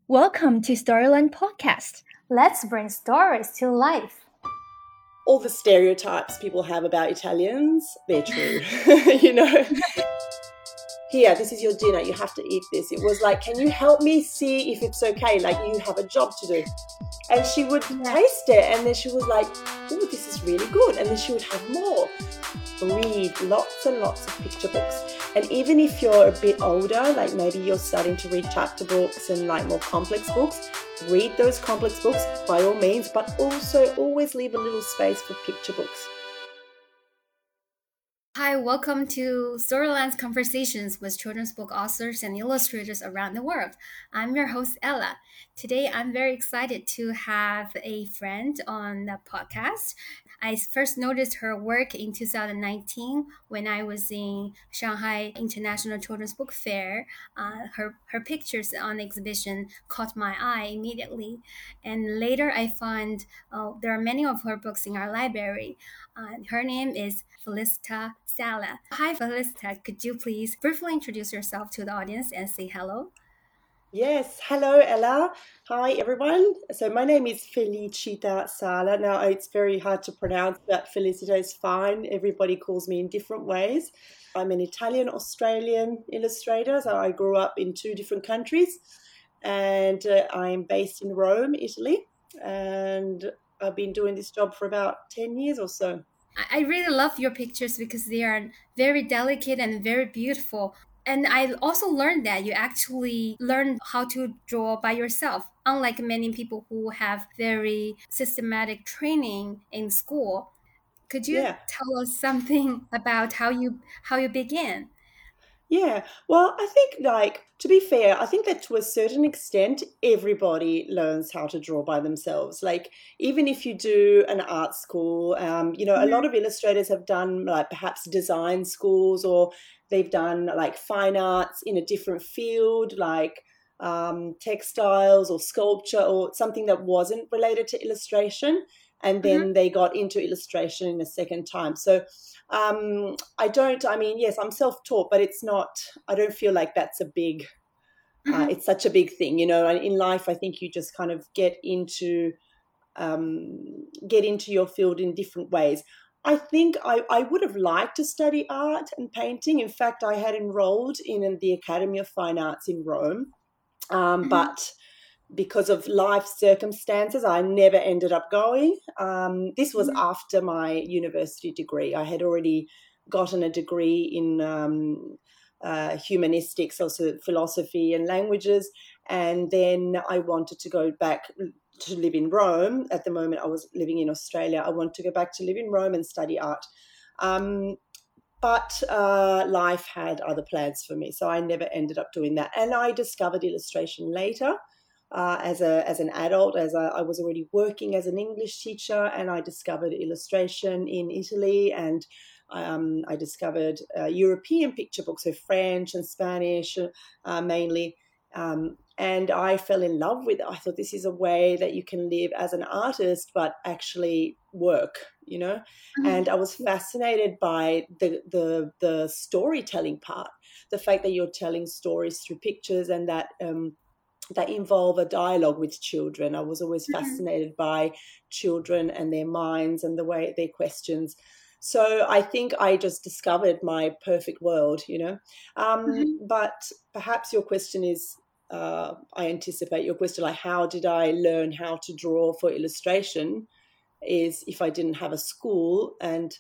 Welcome to Storyland Podcast. Let's bring stories to life. All the stereotypes people have about Italians, they're true. Here, this is your dinner, you have to eat this. It was like, can you help me see if it's okay? Like, you have a job to do. And she would taste it, and then she was like, oh, this is really good. And then she would have more. Read lots and lots of picture books. And even if you're a bit older, like maybe you're starting to read chapter books and like more complex books, read those complex books by all means, but also always leave a little space for picture books. Hi, welcome to Storyland's Conversations with children's book authors and illustrators around the world. I'm your host, Ella. Today, I'm very excited to have a friend on the podcast. I first noticed her work in 2019 when I was in Shanghai International Children's Book Fair. Her pictures on the exhibition caught my eye immediately. And later, I found there are many of her books in our library. Her name is Felicita Sala. Hi, Felicita. Could you please briefly introduce yourself to the audience and say hello? Yes. Hello, Ella. Hi, everyone. So my name is Felicita Sala. Now, it's very hard to pronounce, but Felicita is fine. Everybody calls me in different ways. I'm an Italian-Australian illustrator. So I grew up in two different countries, and I'm based in Rome, Italy. And I've been doing this job for about 10 years or so. I really love your pictures because they are very delicate and very beautiful. And I also learned that you actually learn how to draw by yourself, unlike many people who have very systematic training in school. Could you tell us something about how you began? Yeah, well, I think, like, to be fair, I think that to a certain extent, everybody learns how to draw by themselves. Like, even if you do an art school, a lot of illustrators have done, like, perhaps design schools, or they've done, like, fine arts in a different field, like textiles or sculpture or something that wasn't related to illustration. And then they got into illustration in a second time. So yes, I'm self-taught, but it's not, I don't feel like that's a big, it's such a big thing, and in life, I think you just kind of get into your field in different ways. I think I would have liked to study art and painting. In fact, I had enrolled in the Academy of Fine Arts in Rome, but because of life circumstances, I never ended up going. This was after my university degree. I had already gotten a degree in humanistics, also philosophy and languages, and then I wanted to go back to live in Rome. At the moment, I was living in Australia. I wanted to go back to live in Rome and study art. But life had other plans for me, so I never ended up doing that. And I discovered illustration later. As an adult, I was already working as an English teacher, and I discovered illustration in Italy, and I discovered European picture books, so French and Spanish mainly, and I fell in love with it. I thought this is a way that you can live as an artist but actually work, and I was fascinated by the storytelling part, the fact that you're telling stories through pictures, and that involve a dialogue with children. I was always fascinated by children and their minds and the way their questions. So I think I just discovered my perfect world, But perhaps your question is, I anticipate your question, like how did I learn how to draw for illustration, is if I didn't have a school, and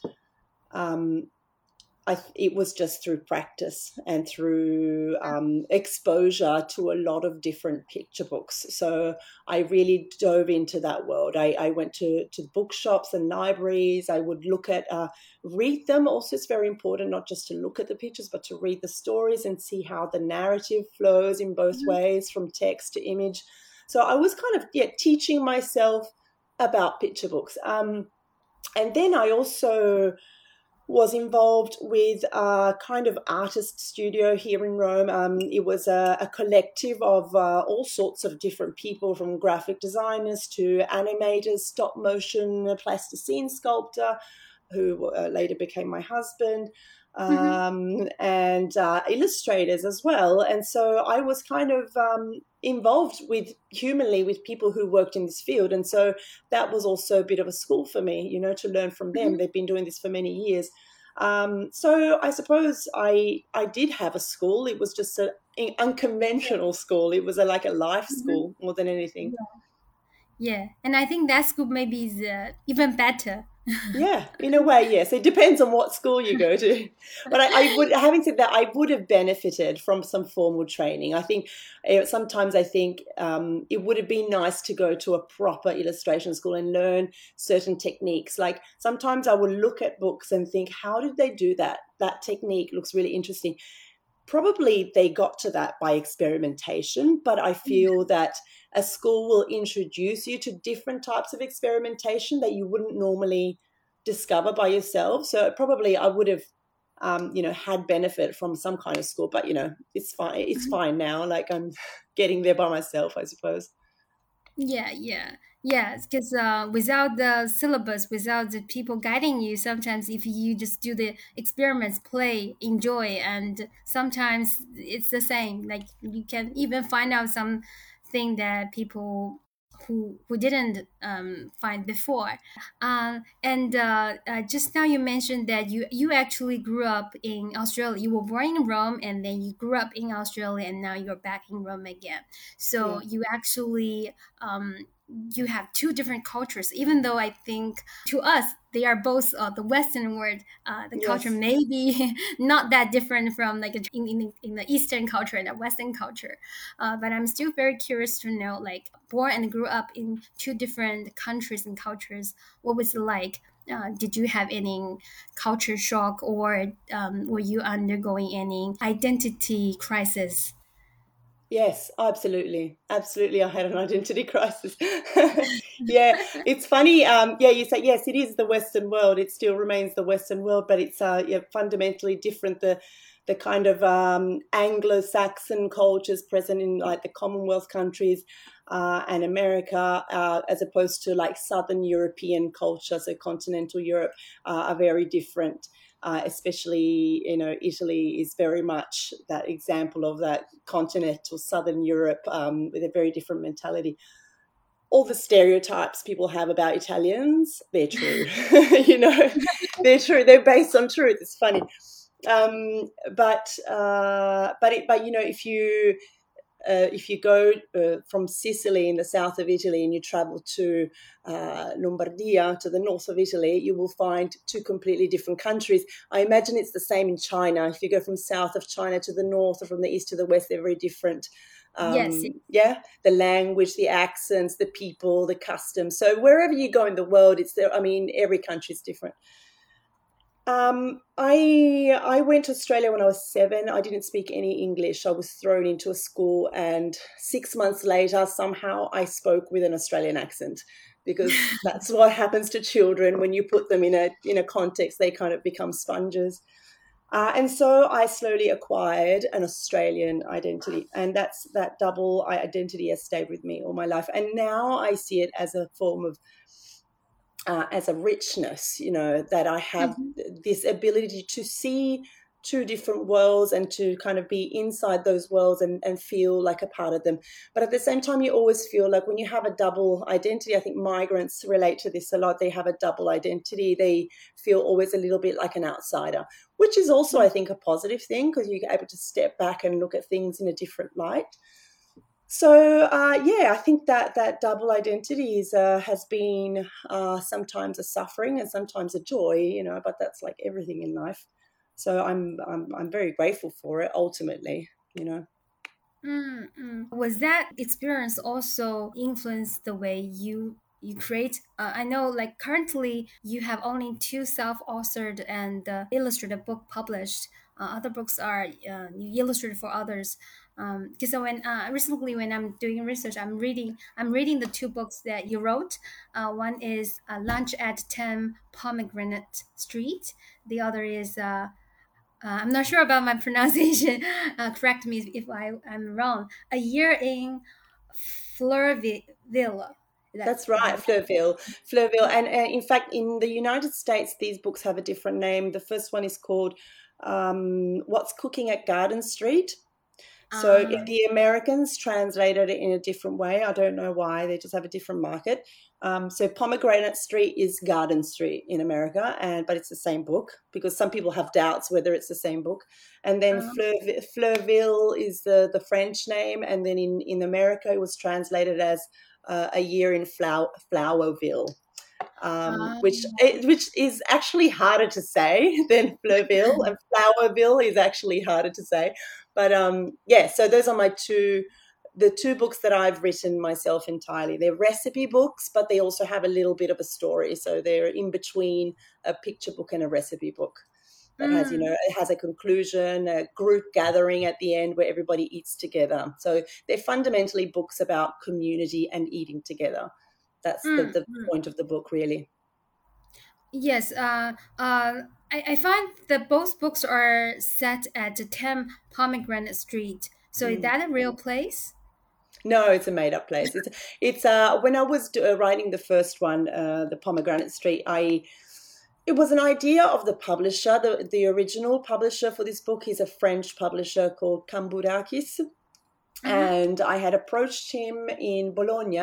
it was just through practice and through exposure to a lot of different picture books. So I really dove into that world. I went to bookshops and libraries. I would read them. Also, it's very important not just to look at the pictures, but to read the stories and see how the narrative flows in both ways, from text to image. So I was kind of teaching myself about picture books. And then I also was involved with a kind of artist studio here in Rome. It was a collective of all sorts of different people, from graphic designers to animators, stop motion, plasticine sculptor, who later became my husband. and illustrators as well. And so I was kind of involved humanly with people who worked in this field. And so that was also a bit of a school for me, to learn from them. They've been doing this for many years. So I suppose I did have a school. It was just an unconventional school. It was like a life school more than anything. Yeah, and I think that school maybe is even better. Yeah, in a way, yes. It depends on what school you go to. But I would, having said that, I would have benefited from some formal training. I think sometimes it would have been nice to go to a proper illustration school and learn certain techniques. Like sometimes I would look at books and think, how did they do that? That technique looks really interesting. Probably they got to that by experimentation, but I feel that a school will introduce you to different types of experimentation that you wouldn't normally discover by yourself. So probably I would have, had benefit from some kind of school, but, it's fine. It's fine now. Like I'm getting there by myself, I suppose. Yeah, because without the syllabus, without the people guiding you, sometimes if you just do the experiments, play, enjoy, and sometimes it's the same. Like you can even find out something that people who didn't find before. And just now you mentioned that you actually grew up in Australia. You were born in Rome, and then you grew up in Australia, and now you're back in Rome again. So you actually you have two different cultures, even though I think to us they are both the Western world. The culture may be not that different from like in the Eastern culture and the Western culture. But I'm still very curious to know, like, born and grew up in two different countries and cultures, what was it like? Did you have any culture shock, or were you undergoing any identity crisis? Yes, absolutely. Absolutely. I had an identity crisis. Yeah, it's funny. You say, yes, it is the Western world. It still remains the Western world, but it's fundamentally different. The kind of Anglo-Saxon cultures present in like the Commonwealth countries and America, as opposed to like Southern European culture, so continental Europe, are very different. Especially, Italy is very much that example of that continental Southern Europe with a very different mentality. All the stereotypes people have about Italians, they're true. They're true. They're based on truth. It's funny. If you go from Sicily in the south of Italy and you travel to Lombardia, to the north of Italy, you will find two completely different countries. I imagine it's the same in China. If you go from south of China to the north or from the east to the west, they're very different. Yes. Yeah, the language, the accents, the people, the customs. So wherever you go in the world, it's there. I mean, every country is different. I went to Australia when I was 7. I didn't speak any English. I was thrown into a school, and 6 months later, somehow I spoke with an Australian accent, because that's what happens to children when you put them in a context. They kind of become sponges. And so I slowly acquired an Australian identity, and that double identity has stayed with me all my life. And now I see it as a form of as a richness, that I have this ability to see two different worlds and to kind of be inside those worlds and feel like a part of them. But at the same time, you always feel like when you have a double identity, I think migrants relate to this a lot. They have a double identity. They feel always a little bit like an outsider, which is also, I think, a positive thing, because you're able to step back and look at things in a different light. So, I think that double identity has been sometimes a suffering and sometimes a joy, but that's like everything in life. So I'm very grateful for it ultimately. Was that experience also influenced the way you create? I know, like, currently you have only 2 self-authored and illustrated book published. Other books are you illustrated for others. Because when recently, when I'm doing research, I'm reading the 2 books that you wrote. One is Lunch at 10 Pomegranate Street. The other is I'm not sure about my pronunciation. Correct me if I'm wrong. A Year in Fleurville. That's right, Fleurville. And in fact, in the United States, these books have a different name. The first one is called What's Cooking at Garden Street. So the Americans translated it in a different way. I don't know why. They just have a different market. So Pomegranate Street is Garden Street in America, but it's the same book because some people have doubts whether it's the same book. And then Fleurville is the French name, and then in America it was translated as A Year in Flowerville. Which is actually harder to say than Fleurville, and Flowerville is actually harder to say. But so those are the two books that I've written myself entirely. They're recipe books, but they also have a little bit of a story. So they're in between a picture book and a recipe book that has, it has a conclusion, a group gathering at the end where everybody eats together. So they're fundamentally books about community and eating together. That's the point of the book, really. Yes, I find that both books are set at the 10 Pomegranate Street. So is that a real place? No, it's a made-up place. It's when I was writing the first one, the Pomegranate Street, it was an idea of the publisher. The original publisher for this book is a French publisher called Kambourakis. And I had approached him in Bologna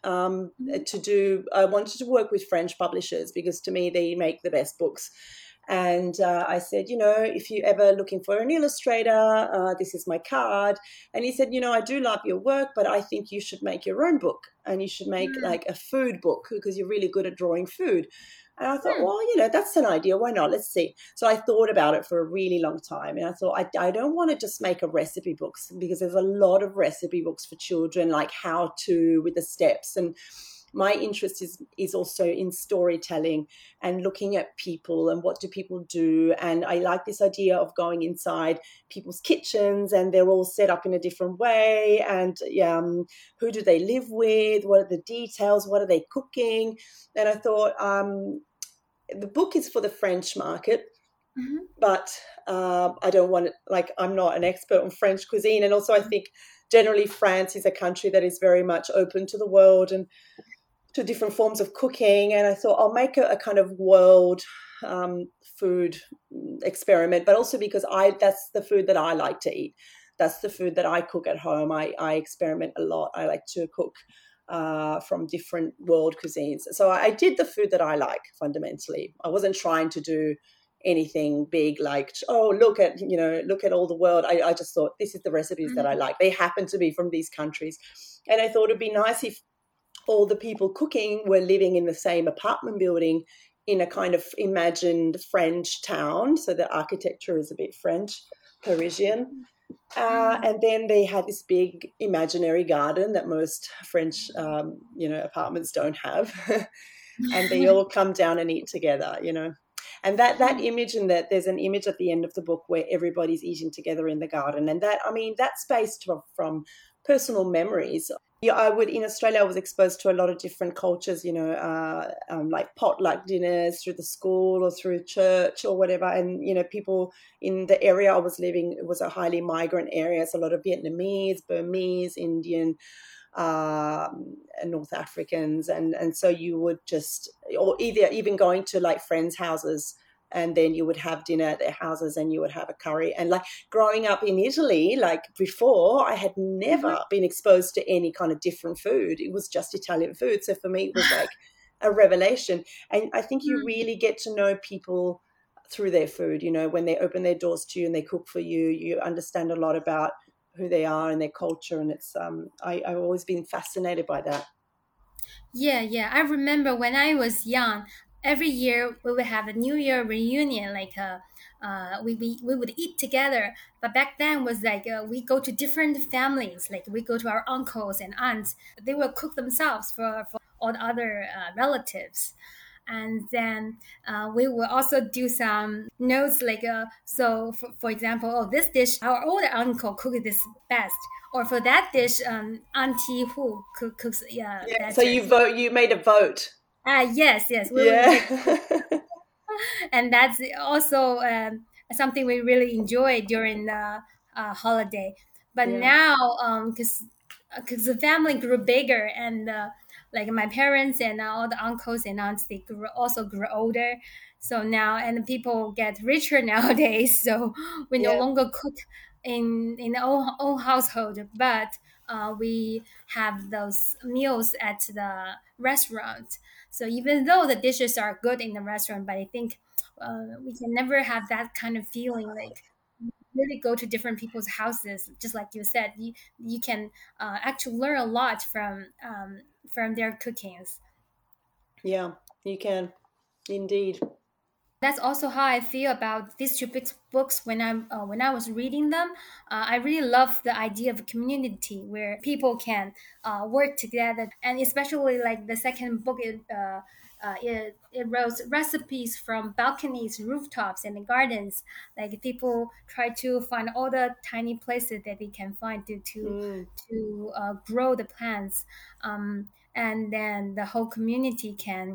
I wanted to work with French publishers because to me they make the best books. And I said, if you're ever looking for an illustrator, this is my card. And he said, I do love your work, but I think you should make your own book and you should make like a food book because you're really good at drawing food. And I thought, well, that's an idea. Why not? Let's see. So I thought about it for a really long time. And I thought, I don't want to just make a recipe book because there's a lot of recipe books for children, like how to with the steps. And my interest is also in storytelling and looking at people and what do people do. And I like this idea of going inside people's kitchens and they're all set up in a different way. And who do they live with? What are the details? What are they cooking? And I thought the book is for the French market. But I don't want it, I'm not an expert on French cuisine. And also I think generally France is a country that is very much open to the world and to different forms of cooking. And I thought I'll make a kind of world food experiment, but also because that's the food that I like to eat. That's the food that I cook at home. I experiment a lot. I like to cook from different world cuisines. So I did the food that I like fundamentally. I wasn't trying to do anything big like, look at all the world. I just thought this is the recipes that I like. They happen to be from these countries. And I thought it'd be nice if all the people cooking were living in the same apartment building in a kind of imagined French town. So the architecture is a bit French, Parisian. And then they had this big imaginary garden that most French, apartments don't have. And they all come down and eat together, And that image, and that there's an image at the end of the book where everybody's eating together in the garden. And that's based from personal memories. Yeah, in Australia, I was exposed to a lot of different cultures, like potluck dinners through the school or through church or whatever. And, people in the area I was living, it was a highly migrant area. So a lot of Vietnamese, Burmese, Indian, North Africans. And so you would or even going to like friends' houses, and then you would have dinner at their houses and you would have a curry. And like growing up in Italy, like before, I had never been exposed to any kind of different food. It was just Italian food. So for me, it was like a revelation. And I think you really get to know people through their food. When they open their doors to you and they cook for you, you understand a lot about who they are and their culture. And it's I've always been fascinated by that. Yeah. I remember when I was young, every year we would have a New Year reunion, like we would eat together. But back then was like we go to different families, like we go to our uncles and aunts. They will cook themselves for all the other relatives. And then we will also do some notes like so for example, this dish our older uncle cooked this best, or for that dish auntie who cooks So you made a vote. Yes. And that's also something we really enjoy during the holiday. But now because the family grew bigger, and like my parents and all the uncles and aunts, they grew older. So now, and people get richer nowadays. So we no Yeah. longer cook in the own household, but we have those meals at the restaurant. So even though the dishes are good in the restaurant, but I think we can never have that kind of feeling like really go to different people's houses. Just like you said, you can actually learn a lot from their cookings. Yeah, you can. Indeed. That's also how I feel about these two books when I was reading them. I really love the idea of a community where people can work together, and especially like the second book, it wrote recipes from balconies, rooftops, and the gardens. Like people try to find all the tiny places that they can find Mm, grow the plants, and then the whole community can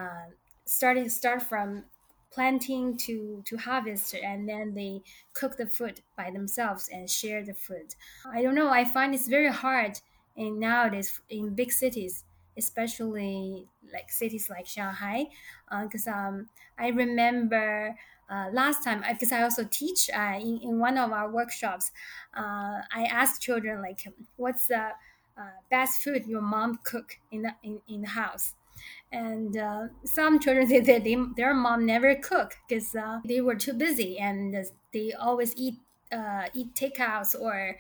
start from planting to harvest, and then they cook the food by themselves and share the food. I don't know, I find it's very hard in nowadays in big cities, especially like cities like Shanghai, because I remember last time, because I also teach in one of our workshops, I asked children like, what's the best food your mom cook in the house. And some children say that their mom never cook because they were too busy, and they always eat takeouts, or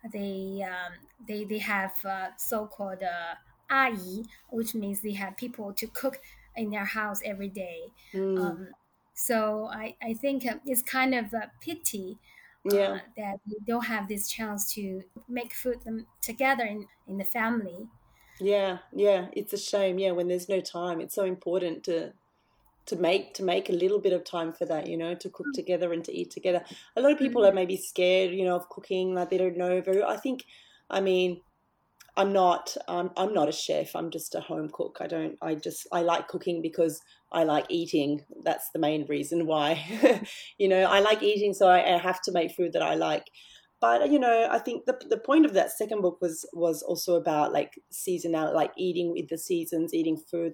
they have so-called 阿姨, which means they have people to cook in their house every day. mm, um, so I think it's kind of a pity yeah. that they don't have this chance to make food them together in the family. Yeah, yeah, it's a shame. Yeah, when there's no time, it's so important to make a little bit of time for that, to cook together and to eat together. A lot of people are maybe scared, of cooking, like they don't know very. I think, I mean, I'm not a chef. I'm just a home cook. I like cooking because I like eating. That's the main reason why. I like eating, so I have to make food that I like. But I think the point of that second book was also about like seasonal, like eating with the seasons, eating food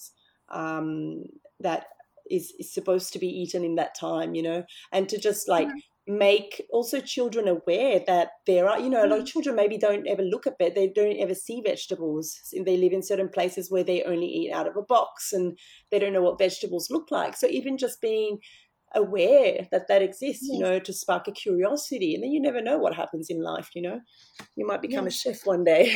um that is supposed to be eaten in that time, and to just like make also children aware that there are, a lot of children maybe don't ever look at they don't ever see vegetables. They live in certain places where they only eat out of a box, and they don't know what vegetables look like. So even just being aware that exists, Yes, to spark a curiosity, and then you never know what happens in life. You might become a yes. chef one day.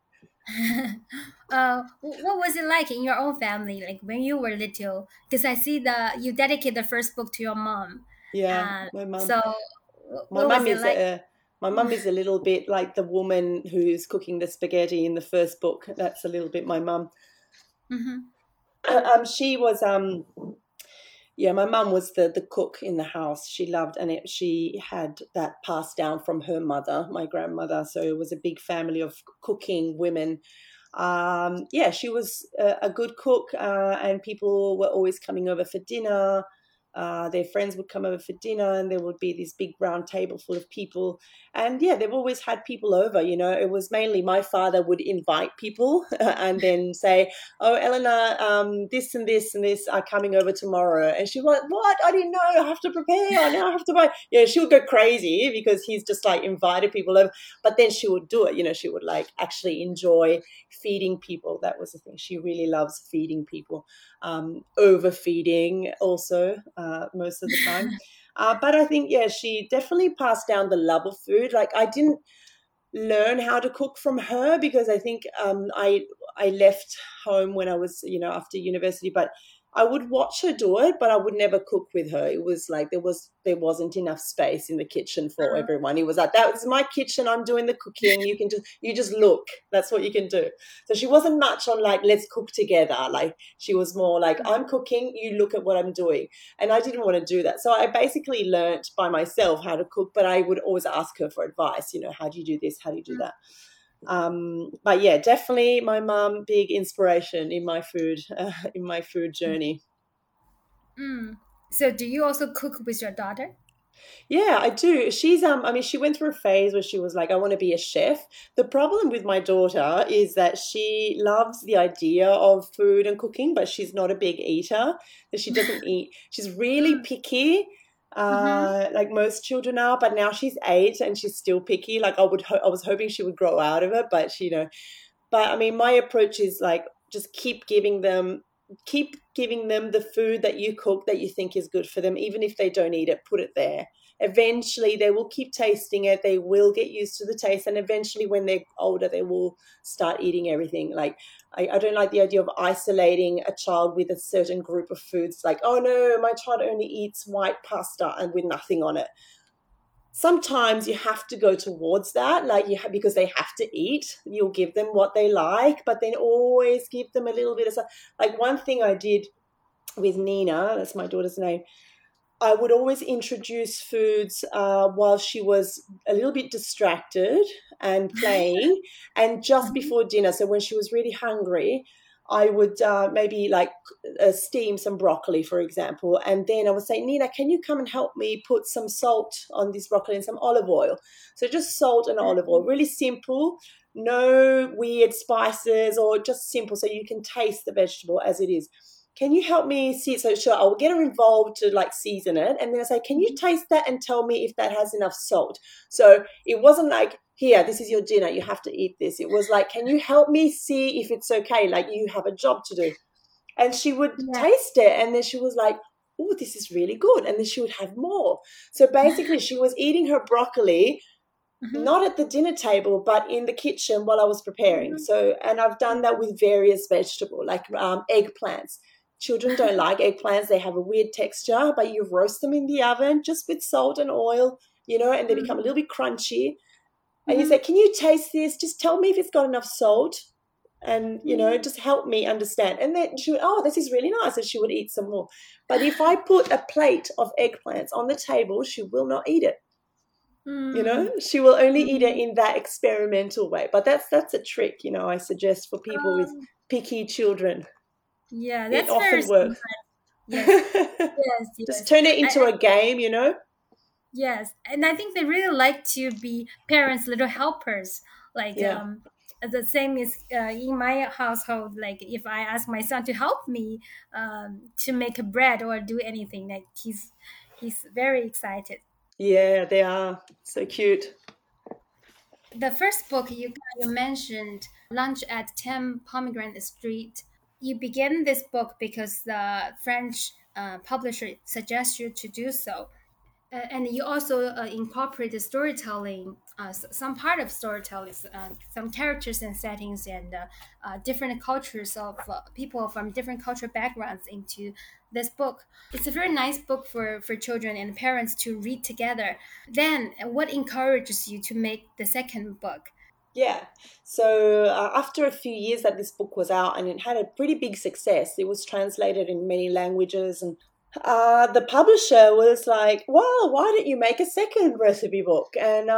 What was it like in your own family, like when you were little? Because I see you dedicate the first book to your mom. Yeah, my mum. So My what was mum it is like? a my mum is a little bit like the woman who's cooking the spaghetti in the first book. That's a little bit my mum. Hmm. She was yeah, my mum was the cook in the house. She loved, and she had that passed down from her mother, my grandmother. So it was a big family of cooking women. Yeah, she was a good cook, and people were always coming over for dinner. Their friends would come over for dinner, and there would be this big round table full of people. And yeah, they've always had people over. It was mainly my father would invite people and then say, "Oh, Eleanor, this and this and this are coming over tomorrow." And she was like, "What? I didn't know. I have to prepare. Now I have to buy." Yeah, she would go crazy because he's just like invited people over. But then she would do it. She would like actually enjoy feeding people. That was the thing. She really loves feeding people, overfeeding also most of the time. But I think, yeah, she definitely passed down the love of food. Like I didn't learn how to cook from her because I think I left home when I was, after university, but I would watch her do it, but I would never cook with her. It was like there wasn't enough space in the kitchen for everyone. It was like, that was my kitchen, I'm doing the cooking. You just look. That's what you can do. So she wasn't much on like, let's cook together. Like she was more like, I'm cooking, you look at what I'm doing. And I didn't want to do that. So I basically learnt by myself how to cook, but I would always ask her for advice, how do you do this? How do you do that? But yeah, definitely my mum, big inspiration in my food journey. Mm. So do you also cook with your daughter? Yeah, I do. I mean, she went through a phase where she was like, I want to be a chef. The problem with my daughter is that she loves the idea of food and cooking, but she's not a big eater. That she doesn't eat. She's really picky, Mm-hmm. like most children are. But now she's 8 and she's still picky. Like I was hoping she would grow out of it, but she, But I mean, my approach is like just keep giving them the food that you cook that you think is good for them, even if they don't eat it. Put it there. Eventually, they will keep tasting it. They will get used to the taste, and eventually, when they're older, they will start eating everything. Like I don't like the idea of isolating a child with a certain group of foods. Like, oh no, my child only eats white pasta and with nothing on it. Sometimes you have to go towards that, like because they have to eat. You'll give them what they like, but then always give them a little bit of something. Like one thing I did with Nina, that's my daughter's name, I would always introduce foods while she was a little bit distracted and playing, and just Mm-hmm. before dinner. So when she was really hungry, I would maybe like steam some broccoli, for example, and then I would say, Nina, can you come and help me put some salt on this broccoli and some olive oil? So just salt and olive oil, really simple, no weird spices, or just simple, so you can taste the vegetable as it is. Can you help me see it? So sure, I'll get her involved to like season it. And then I say, can you taste that and tell me if that has enough salt? So it wasn't like, here, this is your dinner, you have to eat this. It was like, can you help me see if it's okay? Like you have a job to do. And she would Yeah. taste it. And then she was like, oh, this is really good. And then she would have more. So basically she was eating her broccoli, Mm-hmm. not at the dinner table, but in the kitchen while I was preparing. Mm-hmm. So, and I've done that with various vegetables, like eggplants. Children don't like eggplants. They have a weird texture, but you roast them in the oven just with salt and oil, and they become a little bit crunchy. And you Mm-hmm. say, can you taste this? Just tell me if it's got enough salt and, Mm-hmm. just help me understand. And then she would, oh, this is really nice. And she would eat some more. But if I put a plate of eggplants on the table, she will not eat it. She will only eat it Mm-hmm. in that experimental way. But that's a trick, I suggest for people with Um, picky children. yeah, It that's very often works. smart. Yes, yes, Just yes. turn it into a game. Yes, and I think they really like to be parents' little helpers. Like Yeah. the same is in my household. Like if I ask my son to help me to make a bread or do anything, like he's very excited. Yeah, they are so cute. The first book you mentioned, Lunch at 10 Pomegranate Street. You began this book because the French publisher suggests you to do so. And you also incorporate the storytelling, some part of storytelling, some characters and settings, and different cultures of people from different cultural backgrounds into this book. It's a very nice book for children and parents to read together. Then, what encourages you to make the second book? Yeah. So after a few years that this book was out and it had a pretty big success, it was translated in many languages, and the publisher was like, "Well, why don't you make a second recipe book?" And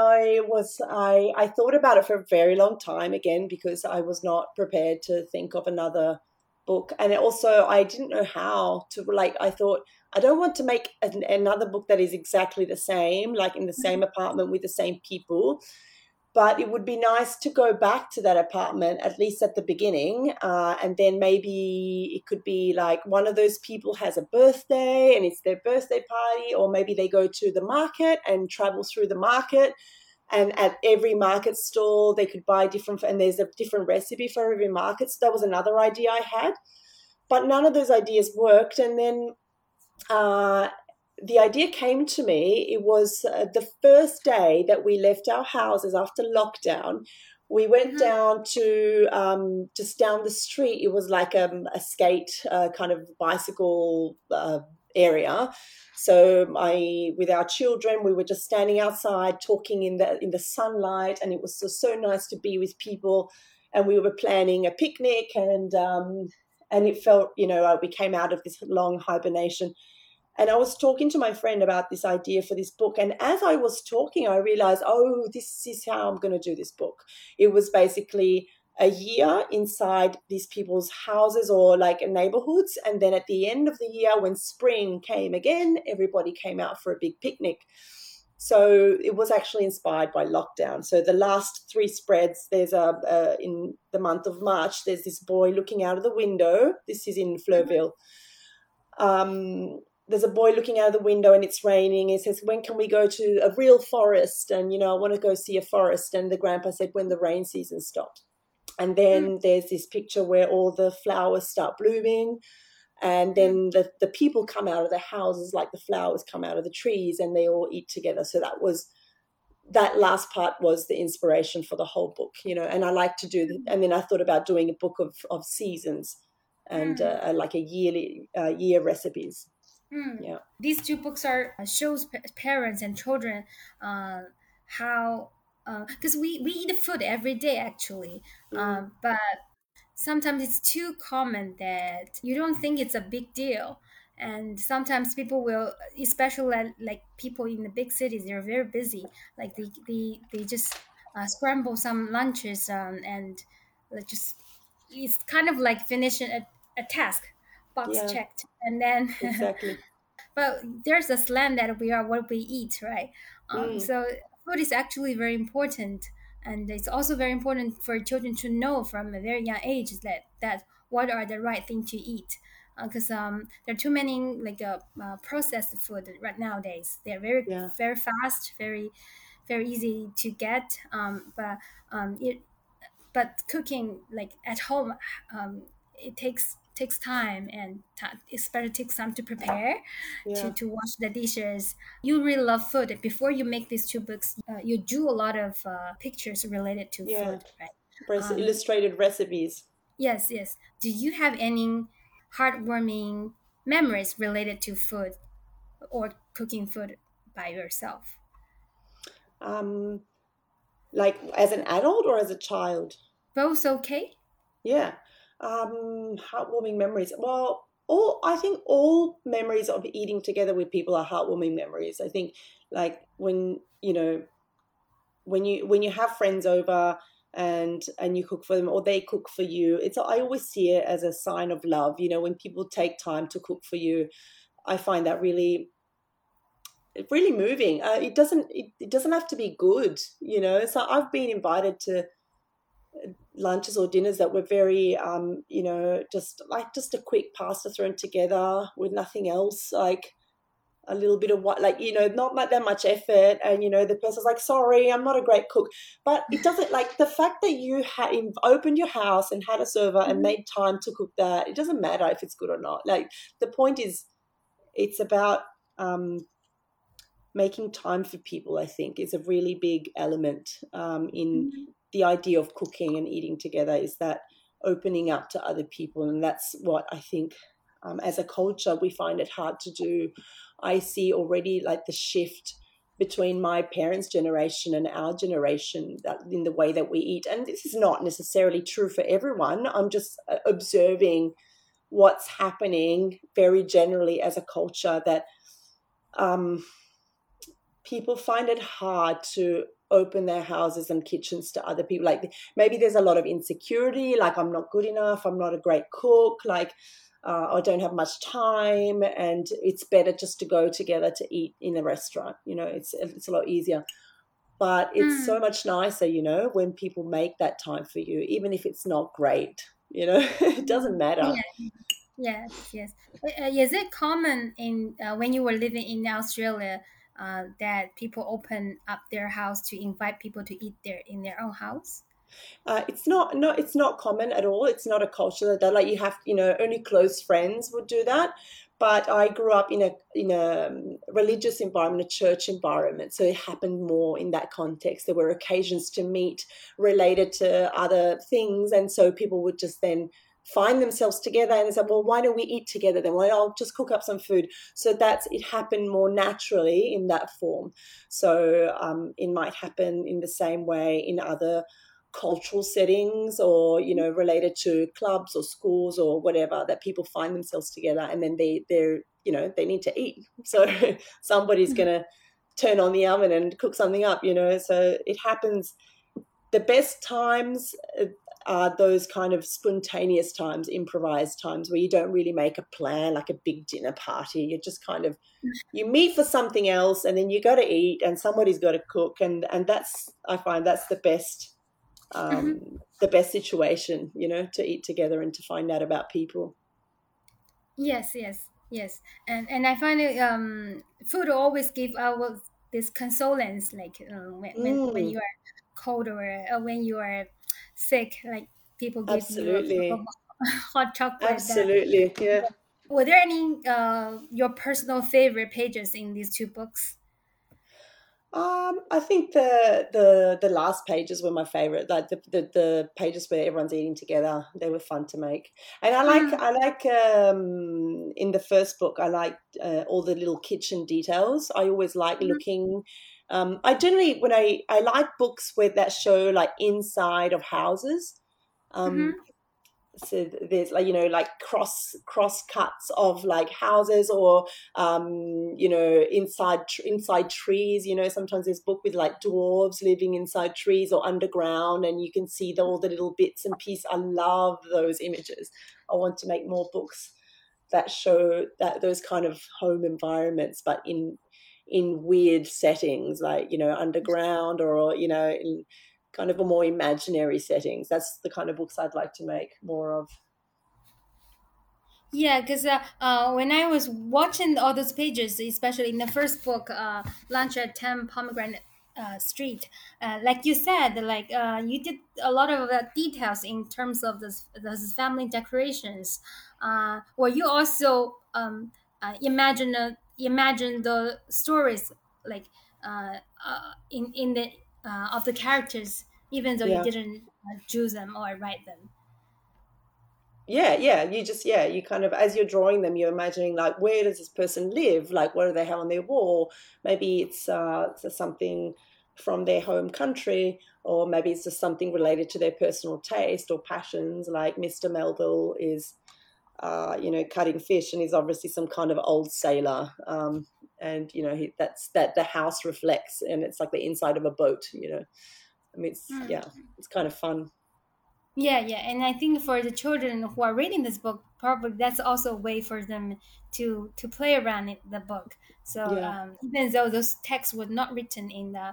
I thought about it for a very long time again because I was not prepared to think of another book, and also I didn't know how to like. I thought I don't want to make another book that is exactly the same, like in the same apartment with the same people, but it would be nice to go back to that apartment at least at the beginning, and then maybe it could be like one of those people has a birthday and it's their birthday party, or maybe they go to the market and travel through the market, and at every market stall they could buy different, and there's a different recipe for every market. So that was another idea I had, but none of those ideas worked. And then uh, the idea came to me. It was the first day that we left our houses after lockdown. We went Mhm. down to just down the street. It was like a skate kind of bicycle area. So with our children, we were just standing outside talking in the sunlight, and it was so nice to be with people. And we were planning a picnic, and it felt, we came out of this long hibernation, and I was talking to my friend about this idea for this book. And as I was talking, I realized, oh, this is how I'm going to do this book. It was basically a year inside these people's houses or like neighborhoods. And then at the end of the year, when spring came again, everybody came out for a big picnic. So it was actually inspired by lockdown. So the last 3 spreads, there's in the month of March, there's this boy looking out of the window. This is in Fleurville. There's a boy looking out of the window and it's raining. He says, when can we go to a real forest? And, I want to go see a forest. And the grandpa said, when the rain season stops. And then there's this picture where all the flowers start blooming. And then the people come out of their houses like the flowers come out of the trees and they all eat together. So that last part was the inspiration for the whole book, and I like to do – and then I thought about doing a book of seasons and like a year recipes. Yeah. These 2 books shows parents and children how because we eat food every day actually, but sometimes it's too common that you don't think it's a big deal. And sometimes people will, especially like people in the big cities, they're very busy. Like they just scramble some lunches and just it's kind of like finishing a task, box checked, and then exactly. but there's a slang that we are what we eat, right? So food is actually very important, and it's also very important for children to know from a very young age that what are the right thing to eat, because there are too many like processed food right nowadays. They're very very fast, very very easy to get, but cooking like at home, it takes time, and it's better takes time to prepare, to wash the dishes. You really love food. Before you make these 2 books, you drew a lot of pictures related to food, right? Illustrated recipes. Yes. Do you have any heartwarming memories related to food or cooking food by yourself? Like as an adult or as a child? Both okay? Yeah. Heartwarming memories. Well, I think all memories of eating together with people are heartwarming memories. I think like when you have friends over and you cook for them or they cook for you, I always see it as a sign of love. When people take time to cook for you, I find that really moving. It doesn't have to be good, So I've been invited to lunches or dinners that were very just a quick pasta thrown together with nothing else, like a little bit of what, like, not that much effort, and the person's like, sorry, I'm not a great cook, but it doesn't, like, the fact that you opened your house and had a server and made time to cook that, it doesn't matter if it's good or not. Like, the point is it's about making time for people. I think is a really big element in the idea of cooking and eating together, is that opening up to other people. And that's what I think as a culture we find it hard to do. I see already like the shift between my parents' generation and our generation in the way that we eat. And this is not necessarily true for everyone. I'm just observing what's happening very generally as a culture, that people find it hard to open their houses and kitchens to other people. Like maybe there's a lot of insecurity, like I'm not good enough, I'm not a great cook, like I don't have much time, and it's better just to go together to eat in a restaurant. It's a lot easier. But it's so much nicer, when people make that time for you, even if it's not great, it doesn't matter. Yes. Is it common in when you were living in Australia that people open up their house to invite people to eat in their own house? It's not common at all. It's not a culture that like you have, only close friends would do that. But I grew up in a religious environment, a church environment, so it happened more in that context. There were occasions to meet related to other things, and so people would just then find themselves together and say, well, why don't we eat together then? Well, I'll just cook up some food. So it happened more naturally in that form. So it might happen in the same way in other cultural settings, or related to clubs or schools or whatever, that people find themselves together and then they need to eat. So somebody's going to turn on the oven and cook something up, so it happens. The best times are those kind of spontaneous times, improvised times where you don't really make a plan, like a big dinner party. You just kind of, you meet for something else, and then you got to eat, and somebody's got to cook, and that's, I find that's the best situation, you know, to eat together and to find out about people. Yes, yes, yes. And I find it food always give out this consolence, like when Mm, you are cold or when you are sick, like people give you a cup of absolutely. hot chocolate. That Absolutely. Yeah. were there any your personal favorite pages in these two books? I think the last pages were my favorite. Like the pages where everyone's eating together, they were fun to make. And Mm, I like in the first book, I like all the little kitchen details. I always like mhm, looking. I generally when I like books where that show like inside of houses. Um, mhm. so there's like, you know, like cross cuts of like houses, or you know, inside trees. You know, sometimes there's book with like dwarves living inside trees or underground, and you can see all the little bits and pieces. I love those images. I want to make more books that show that those kind of home environments, but in weird settings, like, you know, underground, or you know, in kind of a more imaginary settings. That's the kind of books I'd like to make more of. Yeah, because when I was watching all those pages, especially in the first book, Lunch at 10 Pomegranate Street, like you said, like you did a lot of details in terms of those family decorations. Or you also imagine the stories, like in the of the characters, even though you Yeah. didn't choose them or write them. Yeah, you just, yeah, you kind of, as you're drawing them, you're imagining like, where does this person live, like what do they have on their wall. Maybe it's something from their home country, or maybe it's just something related to their personal taste or passions, like Mr. Melville is you know, cutting fish, and he's obviously some kind of old sailor. And you know, that's that the house reflects, and it's like the inside of a boat, you know. I mean, it's, yeah, it's kind of fun. Yeah, yeah, and I think for the children who are reading this book, probably that's also a way for them to play around the book. So Yeah. even though those texts were not written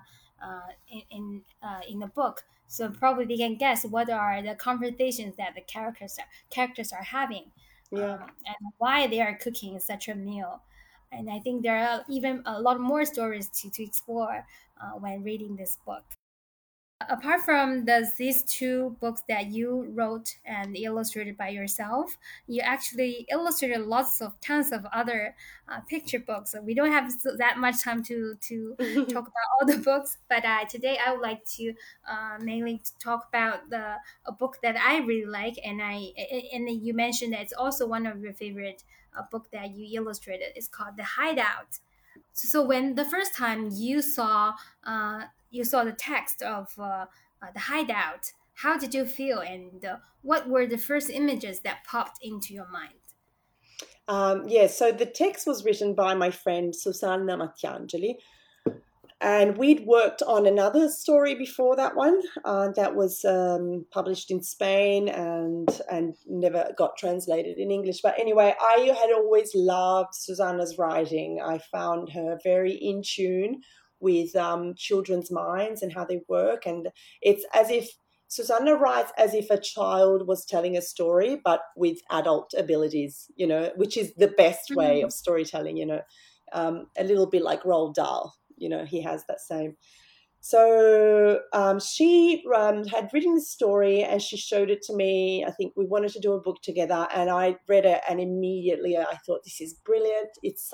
in the book, so probably they can guess what are the conversations that the characters are having, Yeah. and why they are cooking such a meal. And I think there are even a lot more stories to explore when reading this book. Apart from these two books that you wrote and illustrated by yourself, you actually illustrated lots of tons of other picture books. So we don't have that much time to talk about all the books, but today I would like to mainly talk about the a book that I really like, and you mentioned that it's also one of your favorite book that you illustrated. It's called The Hideout. So when the first time you saw the text of the hideout, how did you feel, and what were the first images that popped into your mind? Yeah, so the text was written by my friend Susanna Mattiangeli, and we'd worked on another story before that one that was published in Spain and never got translated in English. But anyway, I had always loved Susanna's writing. I found her very in tune with children's minds and how they work, and it's as if Susanna writes as if a child was telling a story, but with adult abilities, you know, which is the best way of Mhm. storytelling, you know, a little bit like Roald Dahl, you know, he has that same. So she had written this story and she showed it to me. I think we wanted to do a book together, and I read it, and immediately I thought, this is brilliant.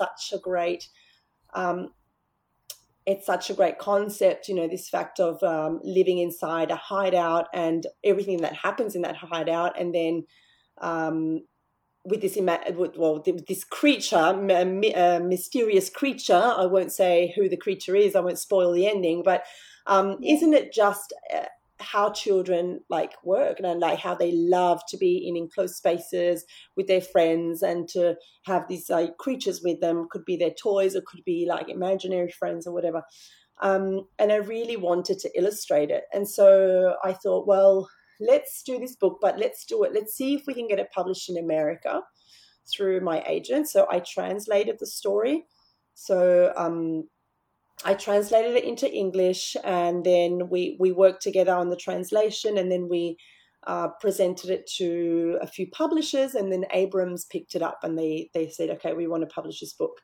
Um, it's such a great concept, you know, this fact of living inside a hideout and everything that happens in that hideout, and then um, with this with this creature, a mysterious creature. I won't say who the creature is. I won't spoil the ending. But Yeah. isn't it just how children like work, and like how they love to be in enclosed spaces with their friends, and to have these like creatures with them? Could be their toys, or could be like imaginary friends or whatever. And I really wanted to illustrate it, and so I thought, well, let's do this book, but let's do it. Let's see if we can get it published in America through my agent. So I translated the story. So I translated it into English, and then we worked together on the translation, and then we presented it to a few publishers, and then Abrams picked it up, and they said, okay, we want to publish this book.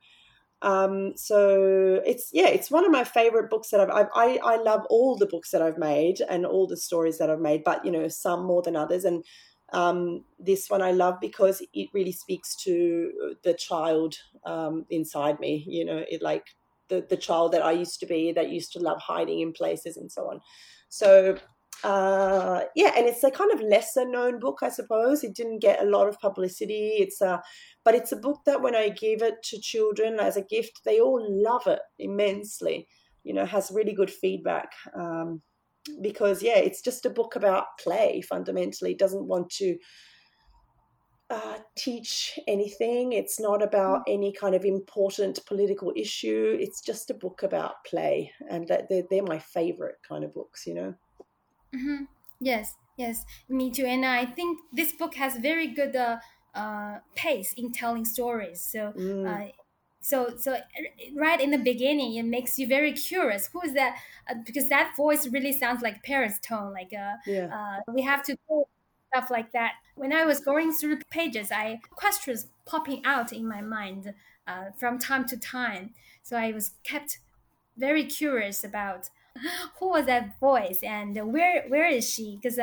So it's one of my favorite books that I love all the books that I've made and all the stories that I've made, but some more than others. And this one I love because it really speaks to the child inside me. It like the child that I used to be, that used to love hiding in places and so on. So and it's a kind of lesser known book, I suppose. It didn't get a lot of publicity. But it's a book that when I give it to children as a gift, they all love it immensely. Has really good feedback. Because it's just a book about play. Fundamentally, it doesn't want to teach anything. It's not about any kind of important political issue. It's just a book about play, and they're my favorite kind of books. Mm-hmm. Yes, me too. And I think this book has very good pace in telling stories. So right in the beginning, it makes you very curious. Who is that? Because that voice really sounds like parents' tone. Like we have to go stuff like that. When I was going through the pages, questions popping out in my mind from time to time. So I was kept very curious about who was that voice and where is she? Because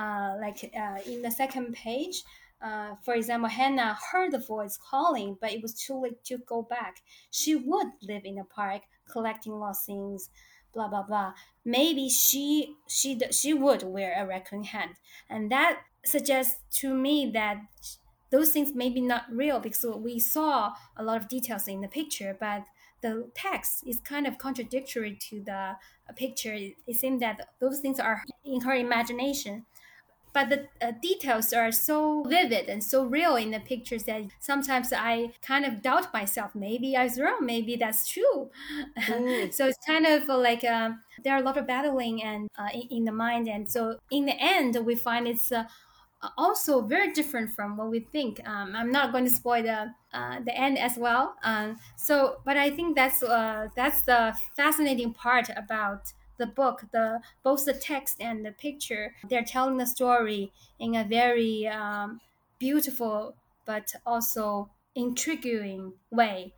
in the second page, for example, Hannah heard the voice calling, but it was too late to go back. She would live in a park collecting lost things, blah blah blah. Maybe she would wear a raccoon hat, and that suggests to me that those things may be not real because we saw a lot of details in the picture, but the text is kind of contradictory to the picture. It seems that those things are in her imagination. But the details are so vivid and so real in the pictures that sometimes I kind of doubt myself. Maybe I was wrong. Maybe that's true. So it's kind of like there are a lot of battling and in the mind. And so in the end, we find it's also very different from what we think. I'm not going to spoil the end as well. But I think that's the fascinating part about the book. Both the text and the picture, they're telling the story in a very beautiful but also intriguing way.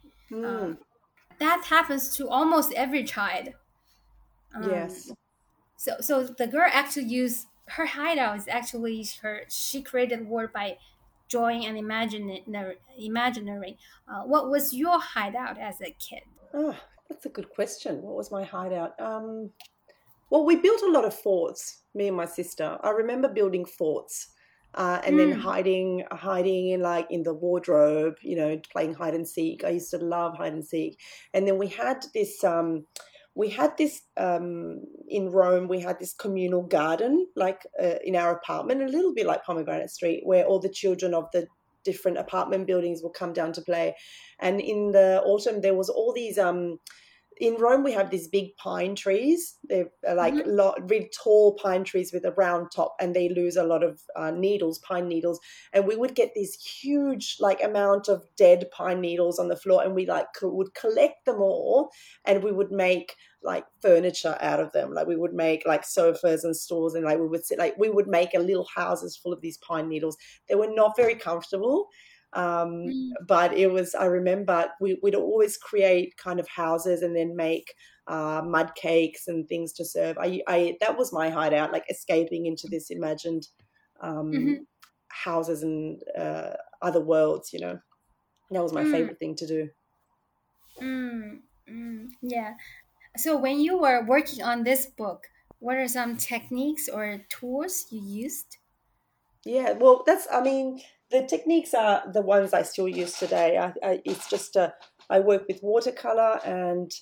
That happens to almost every child. Yes. So the girl actually used her hideout is actually she created word by drawing an imaginary. What was your hideout as a kid? Oh, that's a good question. What was my hideout? Well, we built a lot of forts, me and my sister. I remember building forts and then hiding in the wardrobe, playing hide and seek. I used to love hide and seek. And then we had this in Rome, we had this communal garden, in our apartment, a little bit like Pomegranate Street, where all the children of the different apartment buildings will come down to play. And in the autumn, there was all these in Rome, we have these big pine trees. They're really tall pine trees with a round top, and they lose a lot of pine needles. And we would get this huge amount of dead pine needles on the floor, and we would collect them all, and we would make furniture out of them. We would make sofas and stools, and we would make a little houses full of these pine needles. They were not very comfortable. But it was, I remember we'd always create kind of houses and then make mud cakes and things to serve. That was my hideout, escaping into this imagined houses and other worlds, That was my favorite thing to do. Yeah. So when you were working on this book, what are some techniques or tools you used? Yeah, well, the techniques are the ones I still use today. It's just I work with watercolor and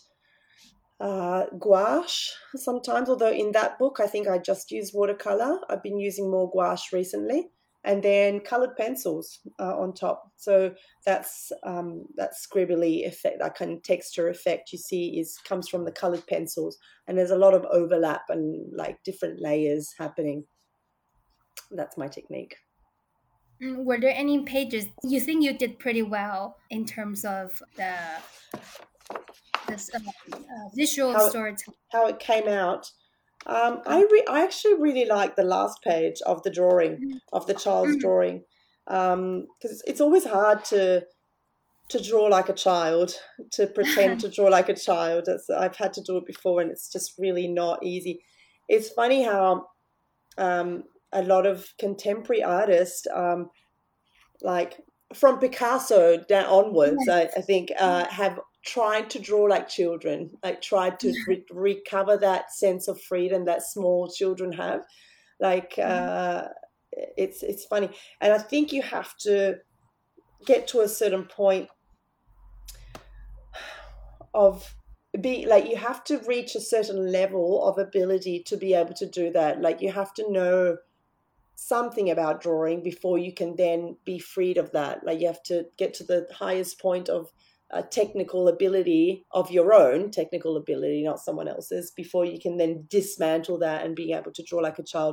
gouache sometimes, although in that book I think I just used watercolor. I've been using more gouache recently, and then colored pencils on top. So that's that scribbly effect, that kind of texture effect you see comes from the colored pencils, and there's a lot of overlap and different layers happening. That's my technique. Were there any pages you think you did pretty well in terms of the this visual How storytelling? how it came out. I actually really like the last page of the drawing, of the child's Mm, drawing, because it's always hard to draw like a child, to pretend to draw like a child. I've had to do it before, and it's just really not easy. It's funny how a lot of contemporary artists, like from Picasso down onwards, I think, have tried to draw like children, like tried to recover that sense of freedom that small children have. Like it's funny, and I think you have to get to a certain point of be like, you have to reach a certain level of ability to be able to do that. Like you have to know something about drawing before you can then be freed of that. Like you have to get to the highest point of technical ability, of your own technical ability, not someone else's, before you can then dismantle that and be able to draw like a child.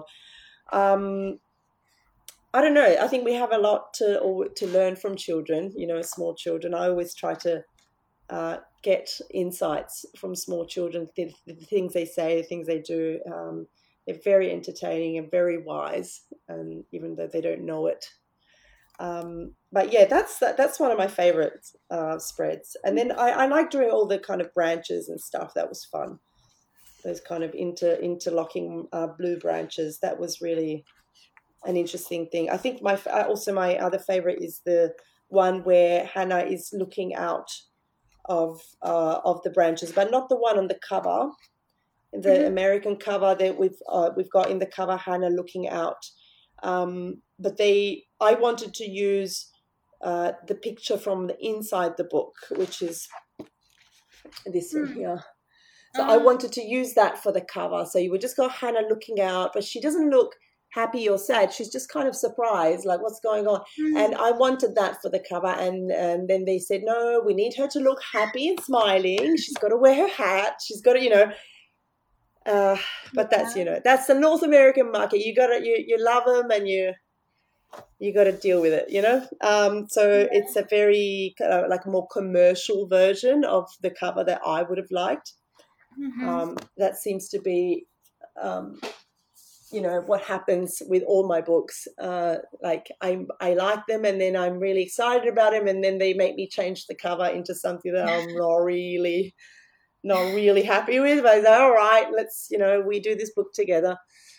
I don't know. I think we have a lot to learn from children. Small children. I always try to get insights from small children, the things they say, the things they do. They're very entertaining and very wise, even though they don't know it. But yeah, that's one of my favorite spreads. And then I like doing all the kind of branches and stuff. That was fun. Those kind of interlocking blue branches. That was really an interesting thing. I think my other favorite is the one where Hannah is looking out of the branches, but not the one on the cover. The American cover that we've got in the cover, Hannah looking out. But I wanted to use the picture from the inside the book, which is this one here. So I wanted to use that for the cover. So you would just got Hannah looking out, but she doesn't look happy or sad. She's just kind of surprised, like what's going on. And I wanted that for the cover. And then they said, no, we need her to look happy and smiling. She's got to wear her hat. She's got to, but that's that's the North American market. You love them, and you got to deal with it, so it's a very like a more commercial version of the cover that I would have liked. That seems to be what happens with all my books. Like I like them, and then I'm really excited about them, and then they make me change the cover into something that I'm not really happy with. But I say, all right, let's we do this book together.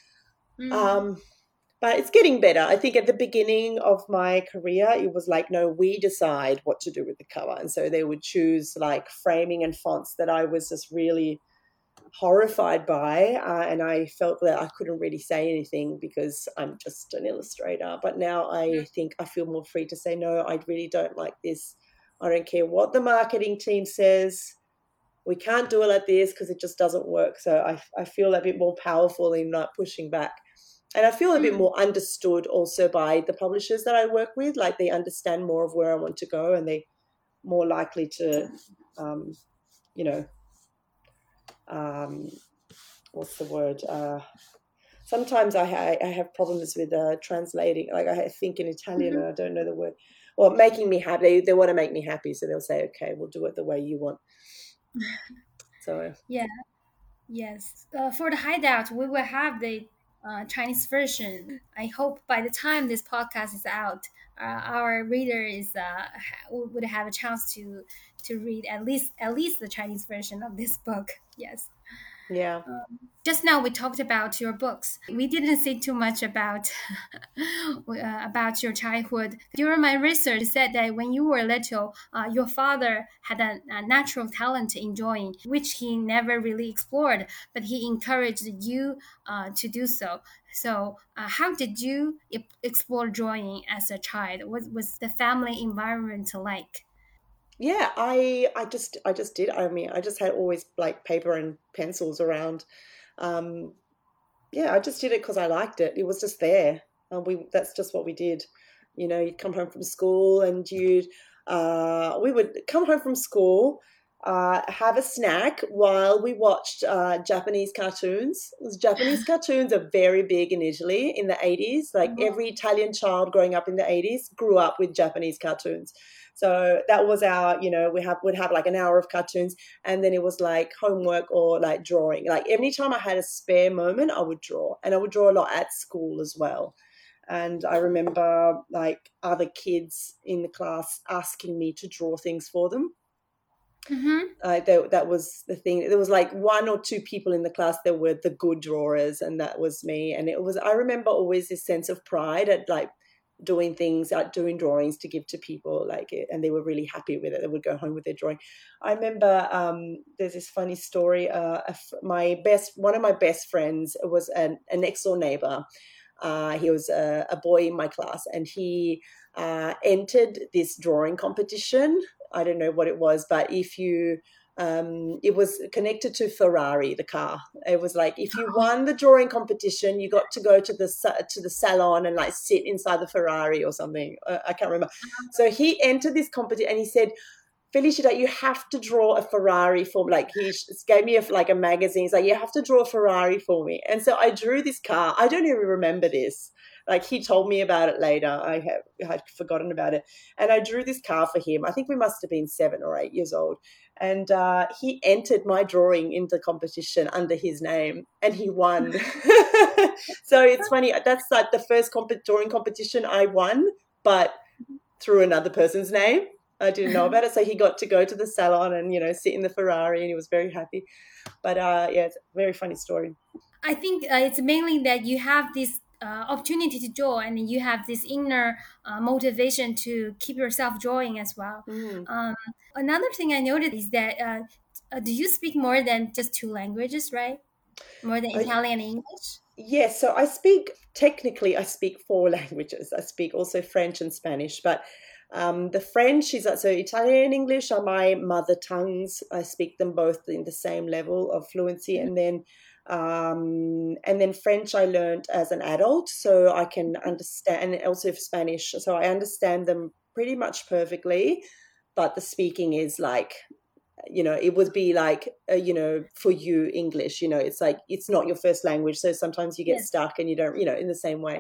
But it's getting better. I think at the beginning of my career, it was like, no, we decide what to do with the cover. And so they would choose like framing and fonts that I was just really horrified by. And I felt that I couldn't really say anything because I'm just an illustrator. But now I think I feel more free to say, no, I really don't like this. I don't care what the marketing team says. We can't do it like this because it just doesn't work. So I feel a bit more powerful in not pushing back. And I feel a bit more understood also by the publishers that I work with. Like they understand more of where I want to go, and they're more likely to, what's the word? Sometimes I have problems with translating. Like I think in Italian and I don't know the word. Well, making me happy. They want to make me happy. So they'll say, okay, we'll do it the way you want. So yeah. Yes. For the Hideout, we will have the Chinese version. I hope by the time this podcast is out, our reader would have a chance to read at least the Chinese version of this book. Yes. Yeah. Just now we talked about your books. We didn't say too much about about your childhood. During my research, it said that when you were little, your father had a natural talent in drawing, which he never really explored, but he encouraged you to do so. So, how did you explore drawing as a child? What was the family environment like? Yeah, I just did. I mean, I just had always like paper and pencils around. Yeah, I just did it because I liked it. It was just there. That's just what we did. You'd come home from school, and we would come home from school. have a snack while we watched Japanese cartoons. Japanese cartoons are very big in Italy in the 80s. Like every Italian child growing up in the 80s grew up with Japanese cartoons. So that was our, would have like an hour of cartoons, and then it was like homework or like drawing. Like every time I had a spare moment, I would draw, and I would draw a lot at school as well. And I remember like other kids in the class asking me to draw things for them. That was the thing. There was like one or two people in the class that were the good drawers, and that was me. And I remember always this sense of pride at like doing things, doing drawings to give to people, like, and they were really happy with it. They would go home with their drawing. I remember there's this funny story. One of my best friends was a next door neighbor. He was a boy in my class, and he entered this drawing competition. I don't know what it was, but it was connected to Ferrari, the car. It was like if you won the drawing competition, you got to go to the salon and like sit inside the Ferrari or something. I can't remember. So he entered this competition, and he said, "Felicita, you have to draw a Ferrari for me." Like he gave me a magazine. He's like, "You have to draw a Ferrari for me." And so I drew this car. I don't even remember this. Like he told me about it later. I had forgotten about it. And I drew this car for him. I think we must have been 7 or 8 years old. And he entered my drawing into the competition under his name, and he won. So it's funny. That's like the first drawing competition I won, but through another person's name. I didn't know about it. So he got to go to the salon and, sit in the Ferrari, and he was very happy. But it's a very funny story. I think it's mainly that you have this opportunity to draw, and you have this inner motivation to keep yourself drawing as well. Another thing I noticed is that do you speak more than just 2 languages, right? More than Italian and English? Yes, so I speak 4 languages. I speak also French and Spanish, but the French is so Italian and English are my mother tongues. I speak them both in the same level of fluency, and then French I learned as an adult, so I can understand, and also Spanish, so I understand them pretty much perfectly, but the speaking is like, it would be like, for you, English, it's like, it's not your first language, so sometimes you get stuck and you don't, in the same way.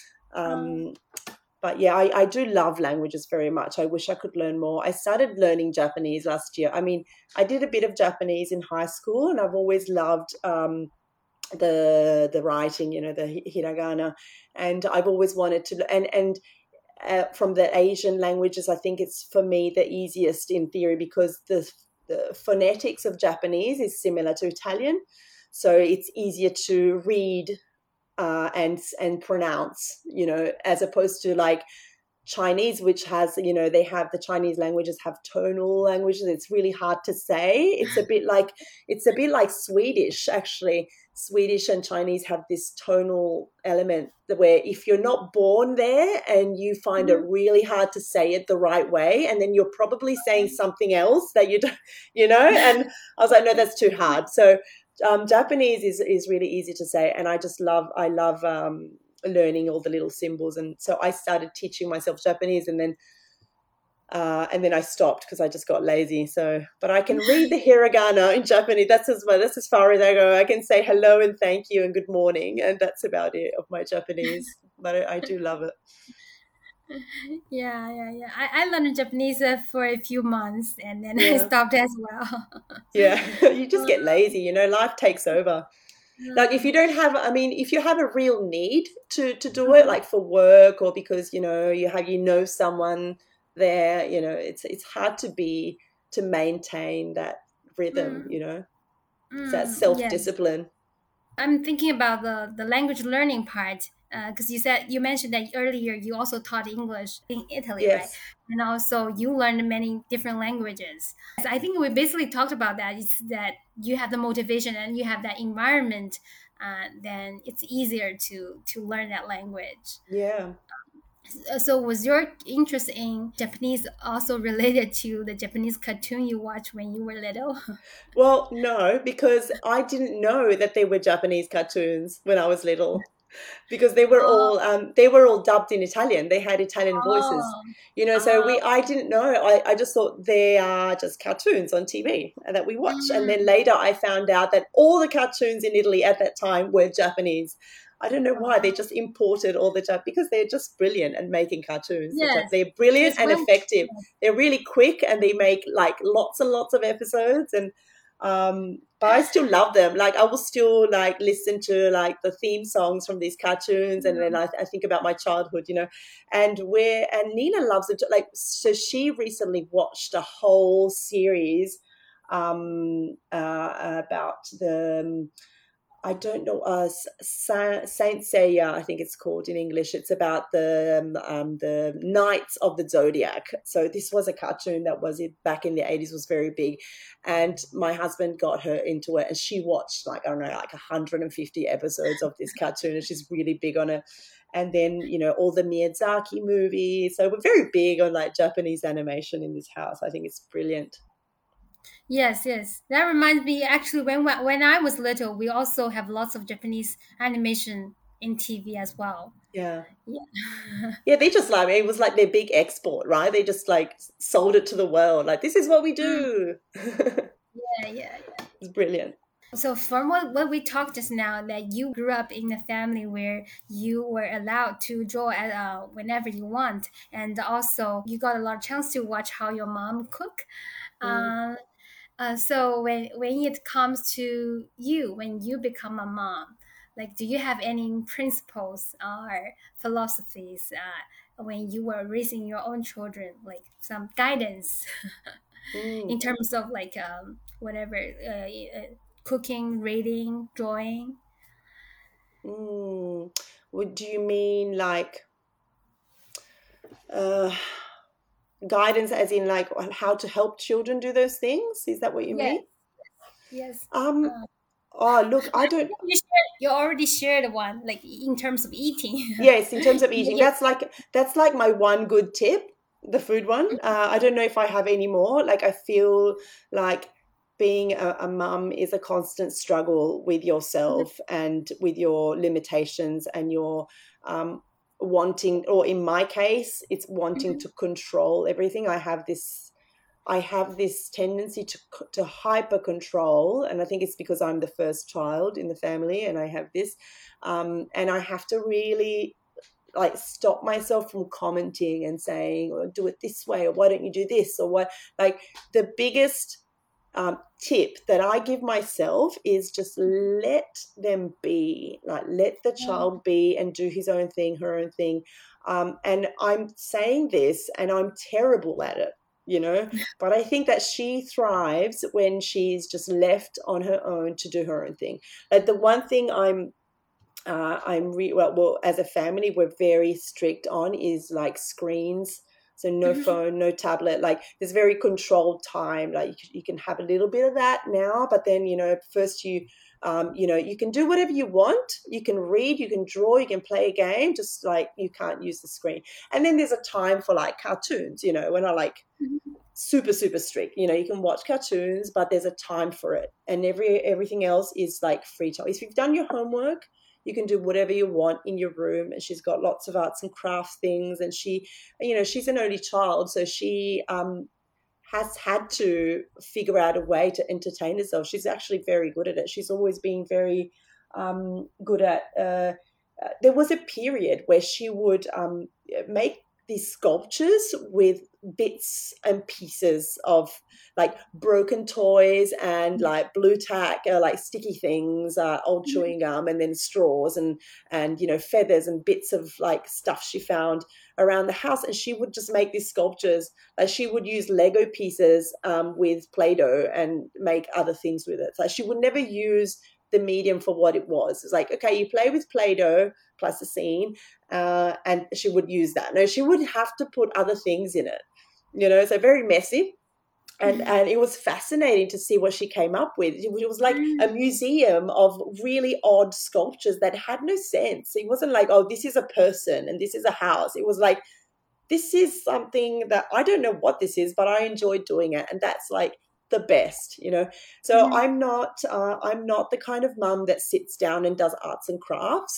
But yeah, I do love languages very much. I wish I could learn more. I started learning Japanese last year. I mean, I did a bit of Japanese in high school, and I've always loved the writing, the hiragana, and I've always wanted to. And from the Asian languages, I think it's for me the easiest in theory, because the phonetics of Japanese is similar to Italian, so it's easier to read and pronounce, as opposed to like Chinese, which has, they have, the Chinese languages have tonal languages. It's really hard to say. It's a bit like Swedish, actually. Swedish and Chinese have this tonal element where if you're not born there and you find it really hard to say it the right way, and then you're probably saying something else that you don't, and I was like, no, that's too hard. So Japanese is really easy to say, and I love learning all the little symbols, and so I started teaching myself Japanese, and then I stopped because I just got lazy. So, but I can read the hiragana in Japanese. That's as far as I go. I can say hello and thank you and good morning, and that's about it of my Japanese. But I do love it. Yeah. I learned Japanese for a few months, and then I stopped as well. Yeah, you just get lazy, life takes over. Like if you have a real need to do it, like for work or because, you someone there, it's hard to maintain that rhythm, it's that self-discipline. Yes. I'm thinking about the language learning part, because you mentioned that earlier you also taught English in Italy, right? And also you learned many different languages. So I think we basically talked about that. It's that you have the motivation and you have that environment, then it's easier to learn that language. Yeah. So was your interest in Japanese also related to the Japanese cartoon you watched when you were little? Well, no, because I didn't know that they were Japanese cartoons when I was little. because they were all dubbed in Italian. They had Italian voices, Oh, So oh. I didn't know. I just thought they are just cartoons on TV that we watch. And then Mm. later I found out that all the cartoons in Italy at that time were Japanese. I don't know why. They just imported all the because they're just brilliant at making cartoons. Yes, They're brilliant because and when effective. They're really quick and they make like lots and lots of episodes, and but I still love them. Like I will still like listen to like the theme songs from these cartoons, and then I think about my childhood, and Nina loves it. Like, so she recently watched a whole series about the I don't know, Saint Seiya, I think it's called in English. It's about the Knights of the Zodiac. So this was a cartoon that was back in the 80s, was very big, and my husband got her into it, and she watched like I don't know, like 150 episodes of this cartoon, and she's really big on it. And then all the Miyazaki movies. So we're very big on like Japanese animation in this house. I think it's brilliant. Yes, yes. That reminds me. Actually, when I was little, we also have lots of Japanese animation in TV as well. Yeah. Yeah. Yeah, they just like it was like their big export, right? They just like sold it to the world. Like, this is what we Mm. do. Yeah, yeah. It's brilliant. So from what we talked just now, that you grew up in a family where you were allowed to draw at, whenever you want, and also you got a lot of chance to watch how your mom cook. Mm. Um, so when it comes to you, when you become a mom, like, do you have any principles or philosophies when you were raising your own children, like some guidance Mm. in terms of like whatever cooking, reading, drawing? Mm. Do you mean like uh, guidance, as in like how to help children do those things? Is that what you Yes, mean? yes. Um. Uh, Oh, look, I don't. you already shared one, like in terms of eating. Yes, in terms of eating, Yeah. that's like my one good tip, the food one. I don't know if I have any more. Like, I feel like being a mum is a constant struggle with yourself and with your limitations and your wanting, or in my case, it's wanting Mhm. to control everything. I have this tendency to hyper control, and I think it's because I'm the first child in the family, and I have this, and I have to really like stop myself from commenting and saying, "Oh, do it this way," or "Why don't you do this?" or what. Like, the biggest tip that I give myself is just let them be, like let the child be and do his own thing, her own thing. And I'm saying this, and I'm terrible at it, but I think that she thrives when she's just left on her own to do her own thing. Like, the one thing well, as a family, we're very strict on is like screens. So no Mhm. phone, no tablet. Like, there's very controlled time. Like, you can have a little bit of that now, but then first you can do whatever you want. You can read, you can draw, you can play a game. Just like, you can't use the screen. And then there's a time for like cartoons. When I like super super strict. You can watch cartoons, but there's a time for it, and everything else is like free time. If you've done your homework, you can do whatever you want in your room. And she's got lots of arts and crafts things, and she's an only child, so she has had to figure out a way to entertain herself. She's actually very good at it. She's always been very good at there was a period where she would make these sculptures with bits and pieces of like broken toys and like blue tack, like sticky things, old chewing gum, and then straws and feathers and bits of like stuff she found around the house. And she would just make these sculptures. Like, she would use Lego pieces with Play-Doh and make other things with it. So she would never use the medium for what it was. It's like, okay, you play with Play-Doh, plasticine, and she would use that. No, she would have to put other things in it, so very messy. And it was fascinating to see what she came up with. It was like a museum of really odd sculptures that had no sense. It wasn't like, oh, this is a person and this is a house. It was like, this is something that I don't know what this is, but I enjoy doing it. And that's like the best. So I'm not the kind of mum that sits down and does arts and crafts.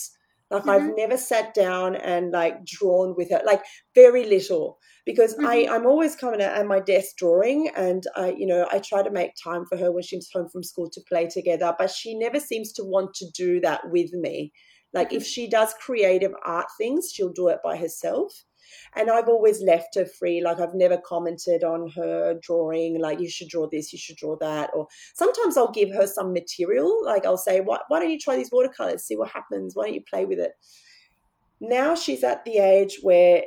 Like I've Mm-hmm. never sat down and like drawn with her, like very little, because Mm-hmm. I'm always coming at my desk drawing, and I try to make time for her when she's home from school to play together, but she never seems to want to do that with me. Like if she does creative art things, she'll do it by herself. And I've always left her free. Like I've never commented on her drawing, like you should draw this, you should draw that. Or sometimes I'll give her some material. Like I'll say, why don't you try these watercolors, see what happens? Why don't you play with it? Now she's at the age where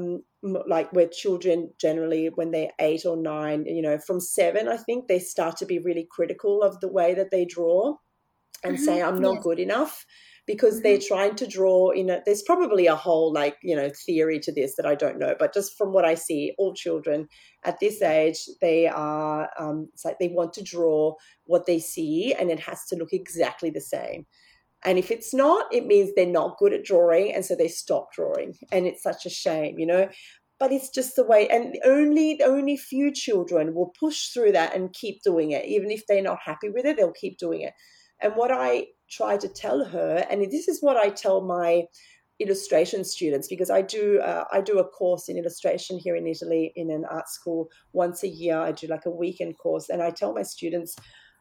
like where children generally when they're 8 or 9, from 7, I think they start to be really critical of the way that they draw and say I'm not Yes. good enough, because they're Mm-hmm. trying to draw there's probably a whole theory to this that I don't know, but just from what I see, all children at this age, they are it's like they want to draw what they see and it has to look exactly the same. And if it's not, it means they're not good at drawing, and so they stop drawing, and it's such a shame. But it's just the way, and only few children will push through that and keep doing it. Even if they're not happy with it, they'll keep doing it. And what I try to tell her, and this is what I tell my illustration students, because I do a course in illustration here in Italy in an art school once a year. I do like a weekend course, and I tell my students,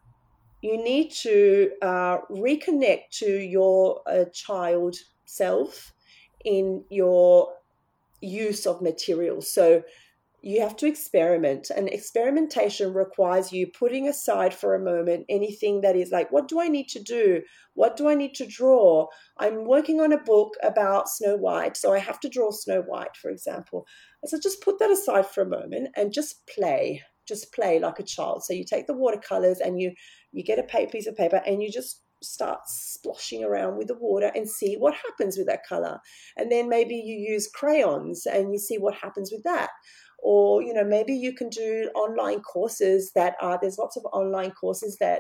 you need to reconnect to your child self in your use of materials. So you have to experiment, and experimentation requires you putting aside for a moment anything that is like, what do I need to do? What do I need to draw? I'm working on a book about Snow White, so I have to draw Snow White, for example. And so just put that aside for a moment and just play like a child. So you take the watercolors and you get a piece of paper and you just start splashing around with the water and see what happens with that color. And then maybe you use crayons and you see what happens with that. Or maybe you can do online courses there's lots of online courses that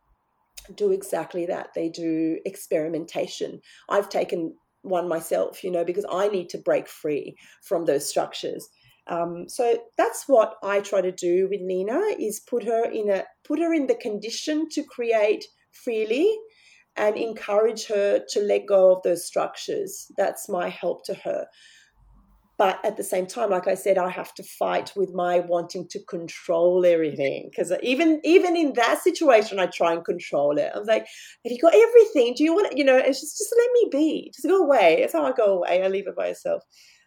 do exactly that. They do experimentation. I've taken one myself, because I need to break free from those structures. So that's what I try to do with Nina, is put her in the condition to create freely and encourage her to let go of those structures. That's my help to her. But at the same time, like I said, I have to fight with my wanting to control everything, because even in that situation, I try and control it. I was like, have you got everything? Do you want it? It's just let me be. Just go away. That's how I go away. I leave it by itself.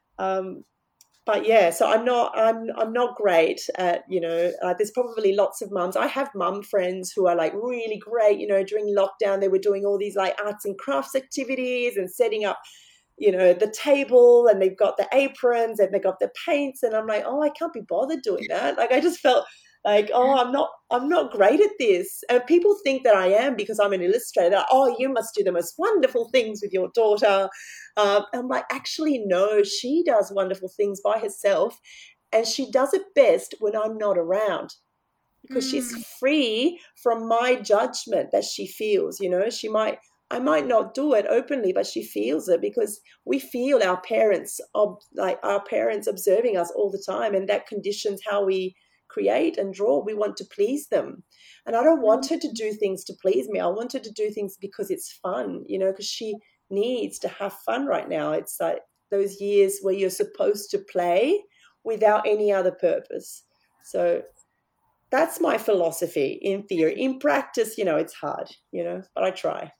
But yeah, so I'm not great at, there's probably lots of mums. I have mum friends who are like really great. During lockdown, they were doing all these like arts and crafts activities and setting up the table, and they've got the aprons and they've got the paints, and I'm like, oh, I can't be bothered doing that. Like I just felt like, oh, I'm not great at this. And people think that I am because I'm an illustrator. Oh, you must do the most wonderful things with your daughter. I'm like, actually, no, she does wonderful things by herself, and she does it best when I'm not around, because she's free from my judgment that she feels. I might not do it openly, but she feels it, because we feel our parents observing us all the time, and that conditions how we create and draw. We want to please them. And I don't want her to do things to please me. I want her to do things because it's fun, because she needs to have fun right now. It's like those years where you're supposed to play without any other purpose. So that's my philosophy in theory. In practice, it's hard, but I try.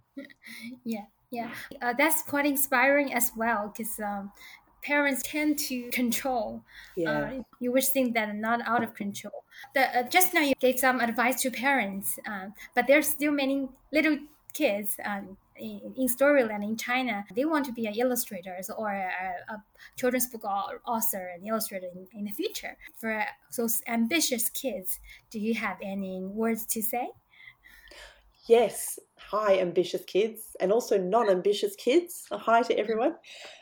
Yeah. That's quite inspiring as well, because parents tend to control. Yeah. You would think that are not out of control. Just now you gave some advice to parents, but there's still many little kids in Storyland in China. They want to be an illustrators or a children's book author and illustrator in the future. For those ambitious kids, do you have any words to say? Yes. Hi, ambitious kids, and also non-ambitious kids. A hi to everyone.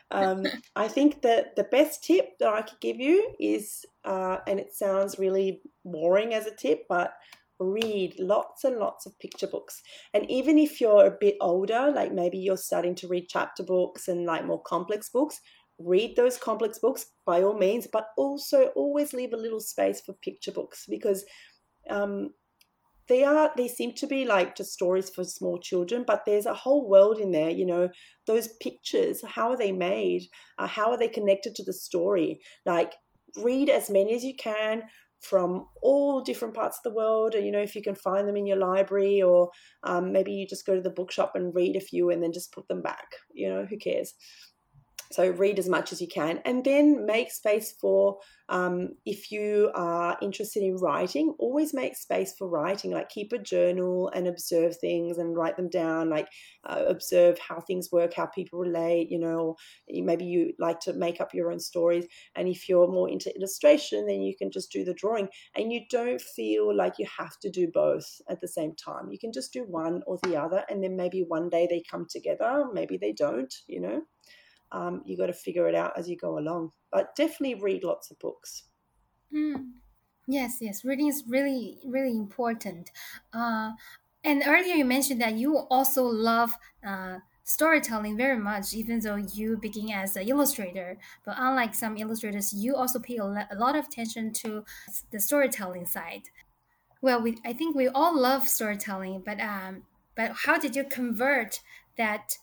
I think that the best tip that I could give you is, and it sounds really boring as a tip, but read lots and lots of picture books. And even if you're a bit older, like maybe you're starting to read chapter books and like more complex books, read those complex books by all means, but also always leave a little space for picture books, because They seem to be like just stories for small children, but there's a whole world in there. Those pictures, how are they made? How are they connected to the story? Like, read as many as you can from all different parts of the world. And, if you can find them in your library, or maybe you just go to the bookshop and read a few and then just put them back. Who cares? So read as much as you can, and then make space for, if you are interested in writing, always make space for writing. Like, keep a journal and observe things and write them down. Like, observe how things work, how people relate, or maybe you like to make up your own stories. And if you're more into illustration, then you can just do the drawing, and you don't feel like you have to do both at the same time. You can just do one or the other, and then maybe one day they come together, maybe they don't. You got to figure it out as you go along, but definitely read lots of books. Yes, reading is really, really important. And earlier you mentioned that you also love storytelling very much, even though you begin as an illustrator. But unlike some illustrators, you also pay a lot of attention to the storytelling side. Well, I think we all love storytelling, but how did you convert that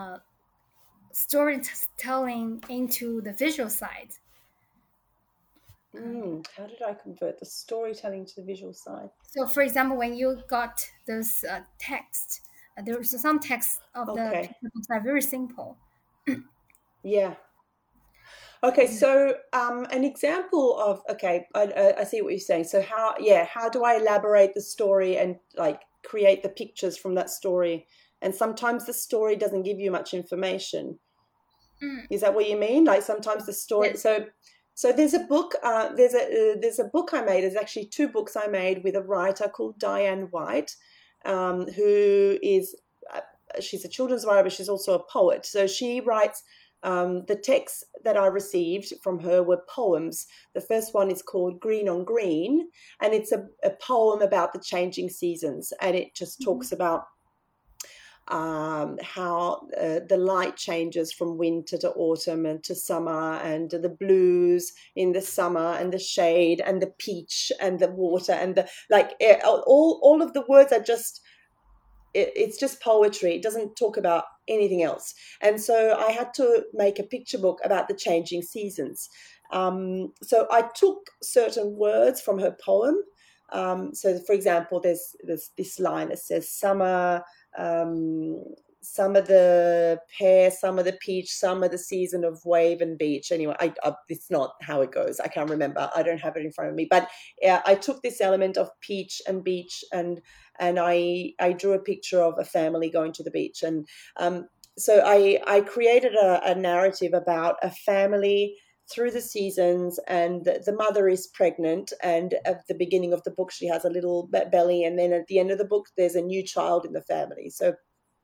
storytelling into the visual side? How did I convert the storytelling to the visual side? So, for example, when you got those text, there was some text of the books are very simple. Yeah. Okay, so an example of, I see what you're saying. So how do I elaborate the story and like create the pictures from that story? And sometimes the story doesn't give you much information. Is that what you mean? Like, sometimes the story. Yes. So there's a book. There's a book I made. There's actually two books I made with a writer called Diane White, who is she's a children's writer, but she's also a poet. So she writes. The texts that I received from her were poems. The first one is called Green on Green, and it's a poem about the changing seasons, and it just talks about how the light changes from winter to autumn and to summer, and the blues in the summer, and the shade and the peach and the water and the all of the words are just it's just poetry. It doesn't talk about anything else. And so I had to make a picture book about the changing seasons. So I took certain words from her poem. So, for example, there's this line that says summer, summer the pear, summer the peach, summer the season of wave and beach. Anyway, it's not how it goes. I can't remember. I don't have it in front of me. But I took this element of peach and beach, and I drew a picture of a family going to the beach. And so I created a narrative about a family through the seasons, and the mother is pregnant, and at the beginning of the book she has a little belly, and then at the end of the book there's a new child in the family. So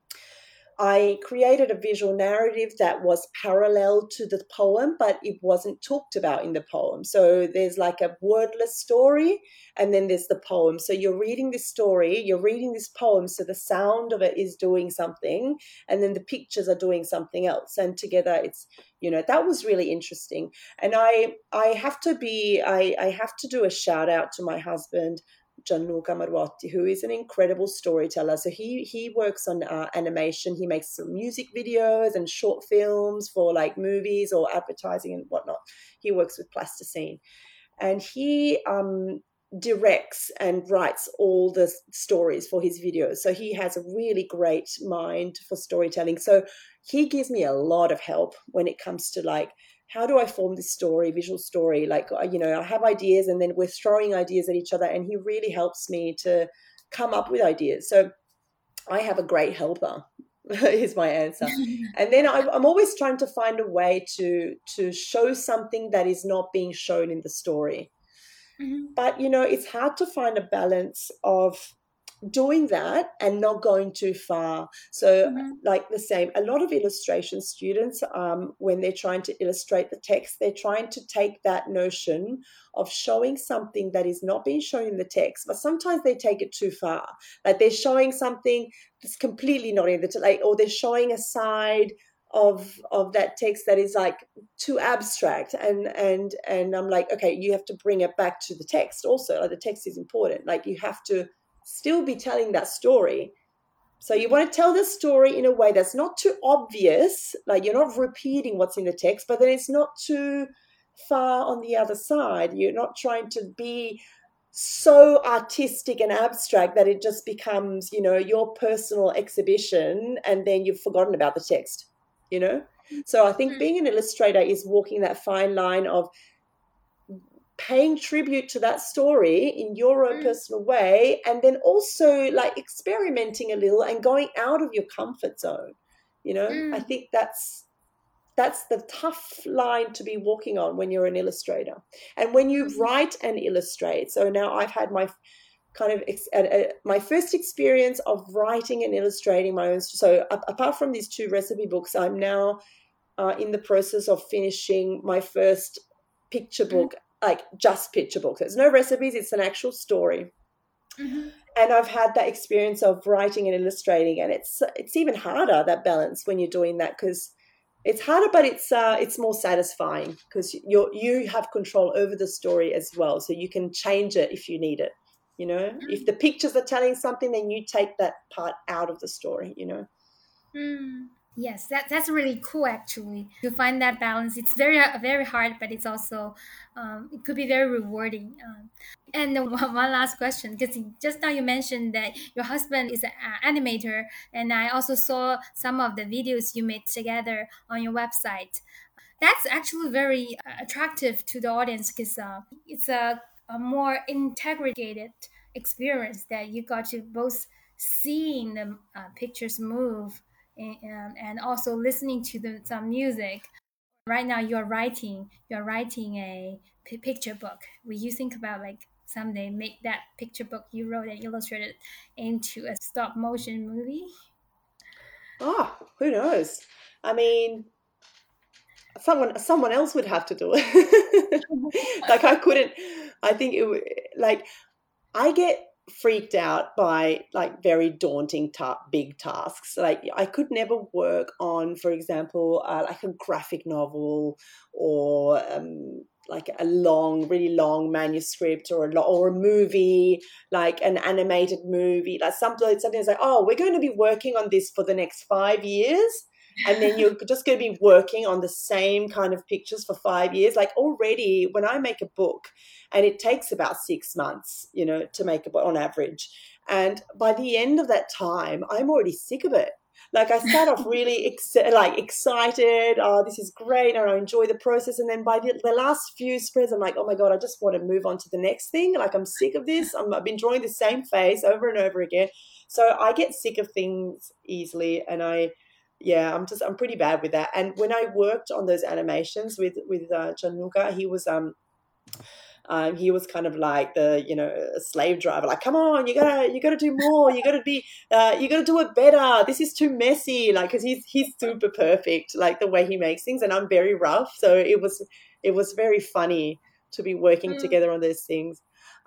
I created a visual narrative that was parallel to the poem, but it wasn't talked about in the poem. So there's like a wordless story, and then there's the poem. So you're reading this story, you're reading this poem, so the sound of it is doing something, and then the pictures are doing something else. And together it's, that was really interesting. And I have to do a shout out to my husband, Gianluca Marwotti, who is an incredible storyteller. So he works on animation. He makes some music videos and short films for like movies or advertising and whatnot. He works with plasticine, and he directs and writes all the stories for his videos. So he has a really great mind for storytelling. So he gives me a lot of help when it comes to like, how do I form this story, visual story? Like, I have ideas, and then we're throwing ideas at each other, and he really helps me to come up with ideas. So I have a great helper, is my answer. And then I'm always trying to find a way to show something that is not being shown in the story. Mm-hmm. But, it's hard to find a balance of doing that and not going too far. So like the same, a lot of illustration students, when they're trying to illustrate the text, they're trying to take that notion of showing something that is not being shown in the text, but sometimes they take it too far. Like they're showing something that's completely not in the or they're showing a side of that text that is like too abstract, and I'm like, okay, you have to bring it back to the text also. Like the text is important. Like you have to still be telling that story. So you want to tell the story in a way that's not too obvious, like you're not repeating what's in the text, but then it's not too far on the other side. You're not trying to be so artistic and abstract that it just becomes, your personal exhibition, and then you've forgotten about the text, So I think being an illustrator is walking that fine line of paying tribute to that story in your own personal way, and then also like experimenting a little and going out of your comfort zone. I think that's the tough line to be walking on when you're an illustrator. And when you write and illustrate, so now I've had my kind of my first experience of writing and illustrating my own. So apart from these 2 recipe books, I'm now in the process of finishing my first picture book, like just picture book. There's no recipes, it's an actual story. And I've had that experience of writing and illustrating, and it's even harder, that balance, when you're doing that, because it's harder, but it's more satisfying because you have control over the story as well, so you can change it if you need it. If the pictures are telling something, then you take that part out of the story. Yes, that's really cool, actually, to find that balance. It's very, very hard, but it's also, it could be very rewarding. And then one last question, because just now you mentioned that your husband is an animator, and I also saw some of the videos you made together on your website. That's actually very attractive to the audience, because it's a more integrated experience that you got to both seeing the pictures move and also listening to some music. Right now, you're writing a picture book. Will you think about like someday make that picture book you wrote and illustrated into a stop motion movie? Oh, who knows? I mean, someone else would have to do it. Like I couldn't. I think it would, like, I get freaked out by like very daunting big tasks. Like I could never work on, for example, like a graphic novel or like a really long manuscript or a movie, like an animated movie, like something that's like, oh, we're going to be working on this for the next 5 years. And then you're just going to be working on the same kind of pictures for 5 years. Like already when I make a book, and it takes about 6 months, to make a book on average. And by the end of that time, I'm already sick of it. Like I start off really excited. Oh, this is great. And I enjoy the process. And then by the last few spreads, I'm like, oh my God, I just want to move on to the next thing. Like I'm sick of this. I've been drawing the same face over and over again. So I get sick of things easily. And I'm pretty bad with that. And when I worked on those animations with Gianluca, he was kind of like a slave driver. Like, come on, you gotta do more. You gotta do it better. This is too messy. Like, because he's super perfect, like the way he makes things, and I'm very rough. So it was very funny to be working together on those things.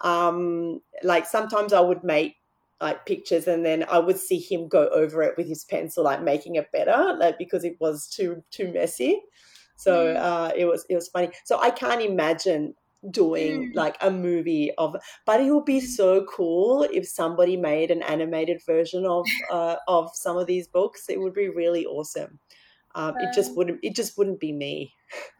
Like sometimes I would make like pictures, and then I would see him go over it with his pencil, like making it better, like because it was too messy. So it was funny. So I can't imagine doing like a movie but it would be so cool if somebody made an animated version of some of these books. It would be really awesome. It just wouldn't be me.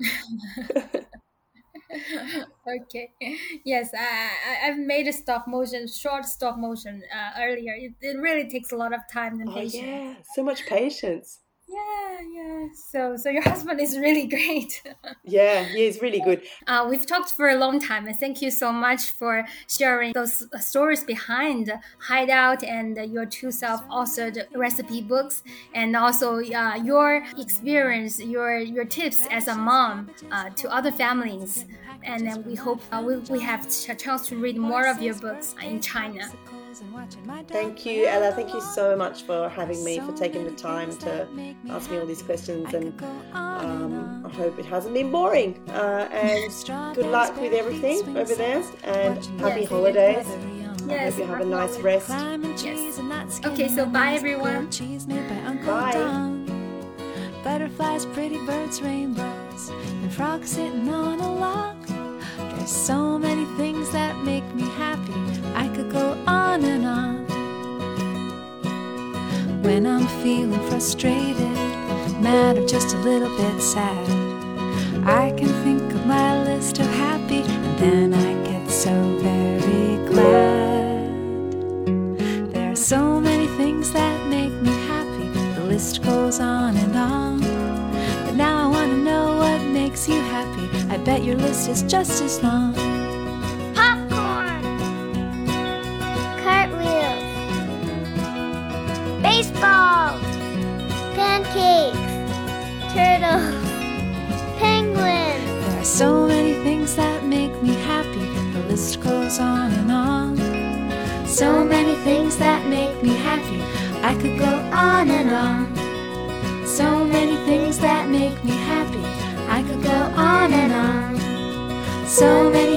Okay. Yes, I've made a short stop motion earlier. It really takes a lot of time and patience. Yeah, so much patience. Yeah. So your husband is really great. Yeah, he's really good. We've talked for a long time, and thank you so much for sharing those stories behind Hideout and your 2 self-authored recipe books, and also your experience, your tips as a mom to other families. And then we hope we have a chance to read more of your books in China. Thank you, Ella. Thank you so much for having me, for taking the time to ask me all these questions, and I hope it hasn't been boring. And good luck with everything over there, and happy holidays. I hope you have a nice rest. Yes. Okay, so bye everyone. Bye. Butterflies, pretty birds, rainbows, and frogs sitting on a log. There's so many things that make me happy. I could go on and on. feeling frustrated, mad or just a little bit sad, I can think of my list of happy, and then I get so very glad. There are so many things that make me happy, the list goes on and on. But now I want to know what makes you happy. I bet your list is just as long. Popcorn, cartwheels, baseball, pancakes, turtles, penguins. There are so many things that make me happy, the list goes on and on. So many things that make me happy, I could go on and on. So many things that make me happy, I could go on and on. So many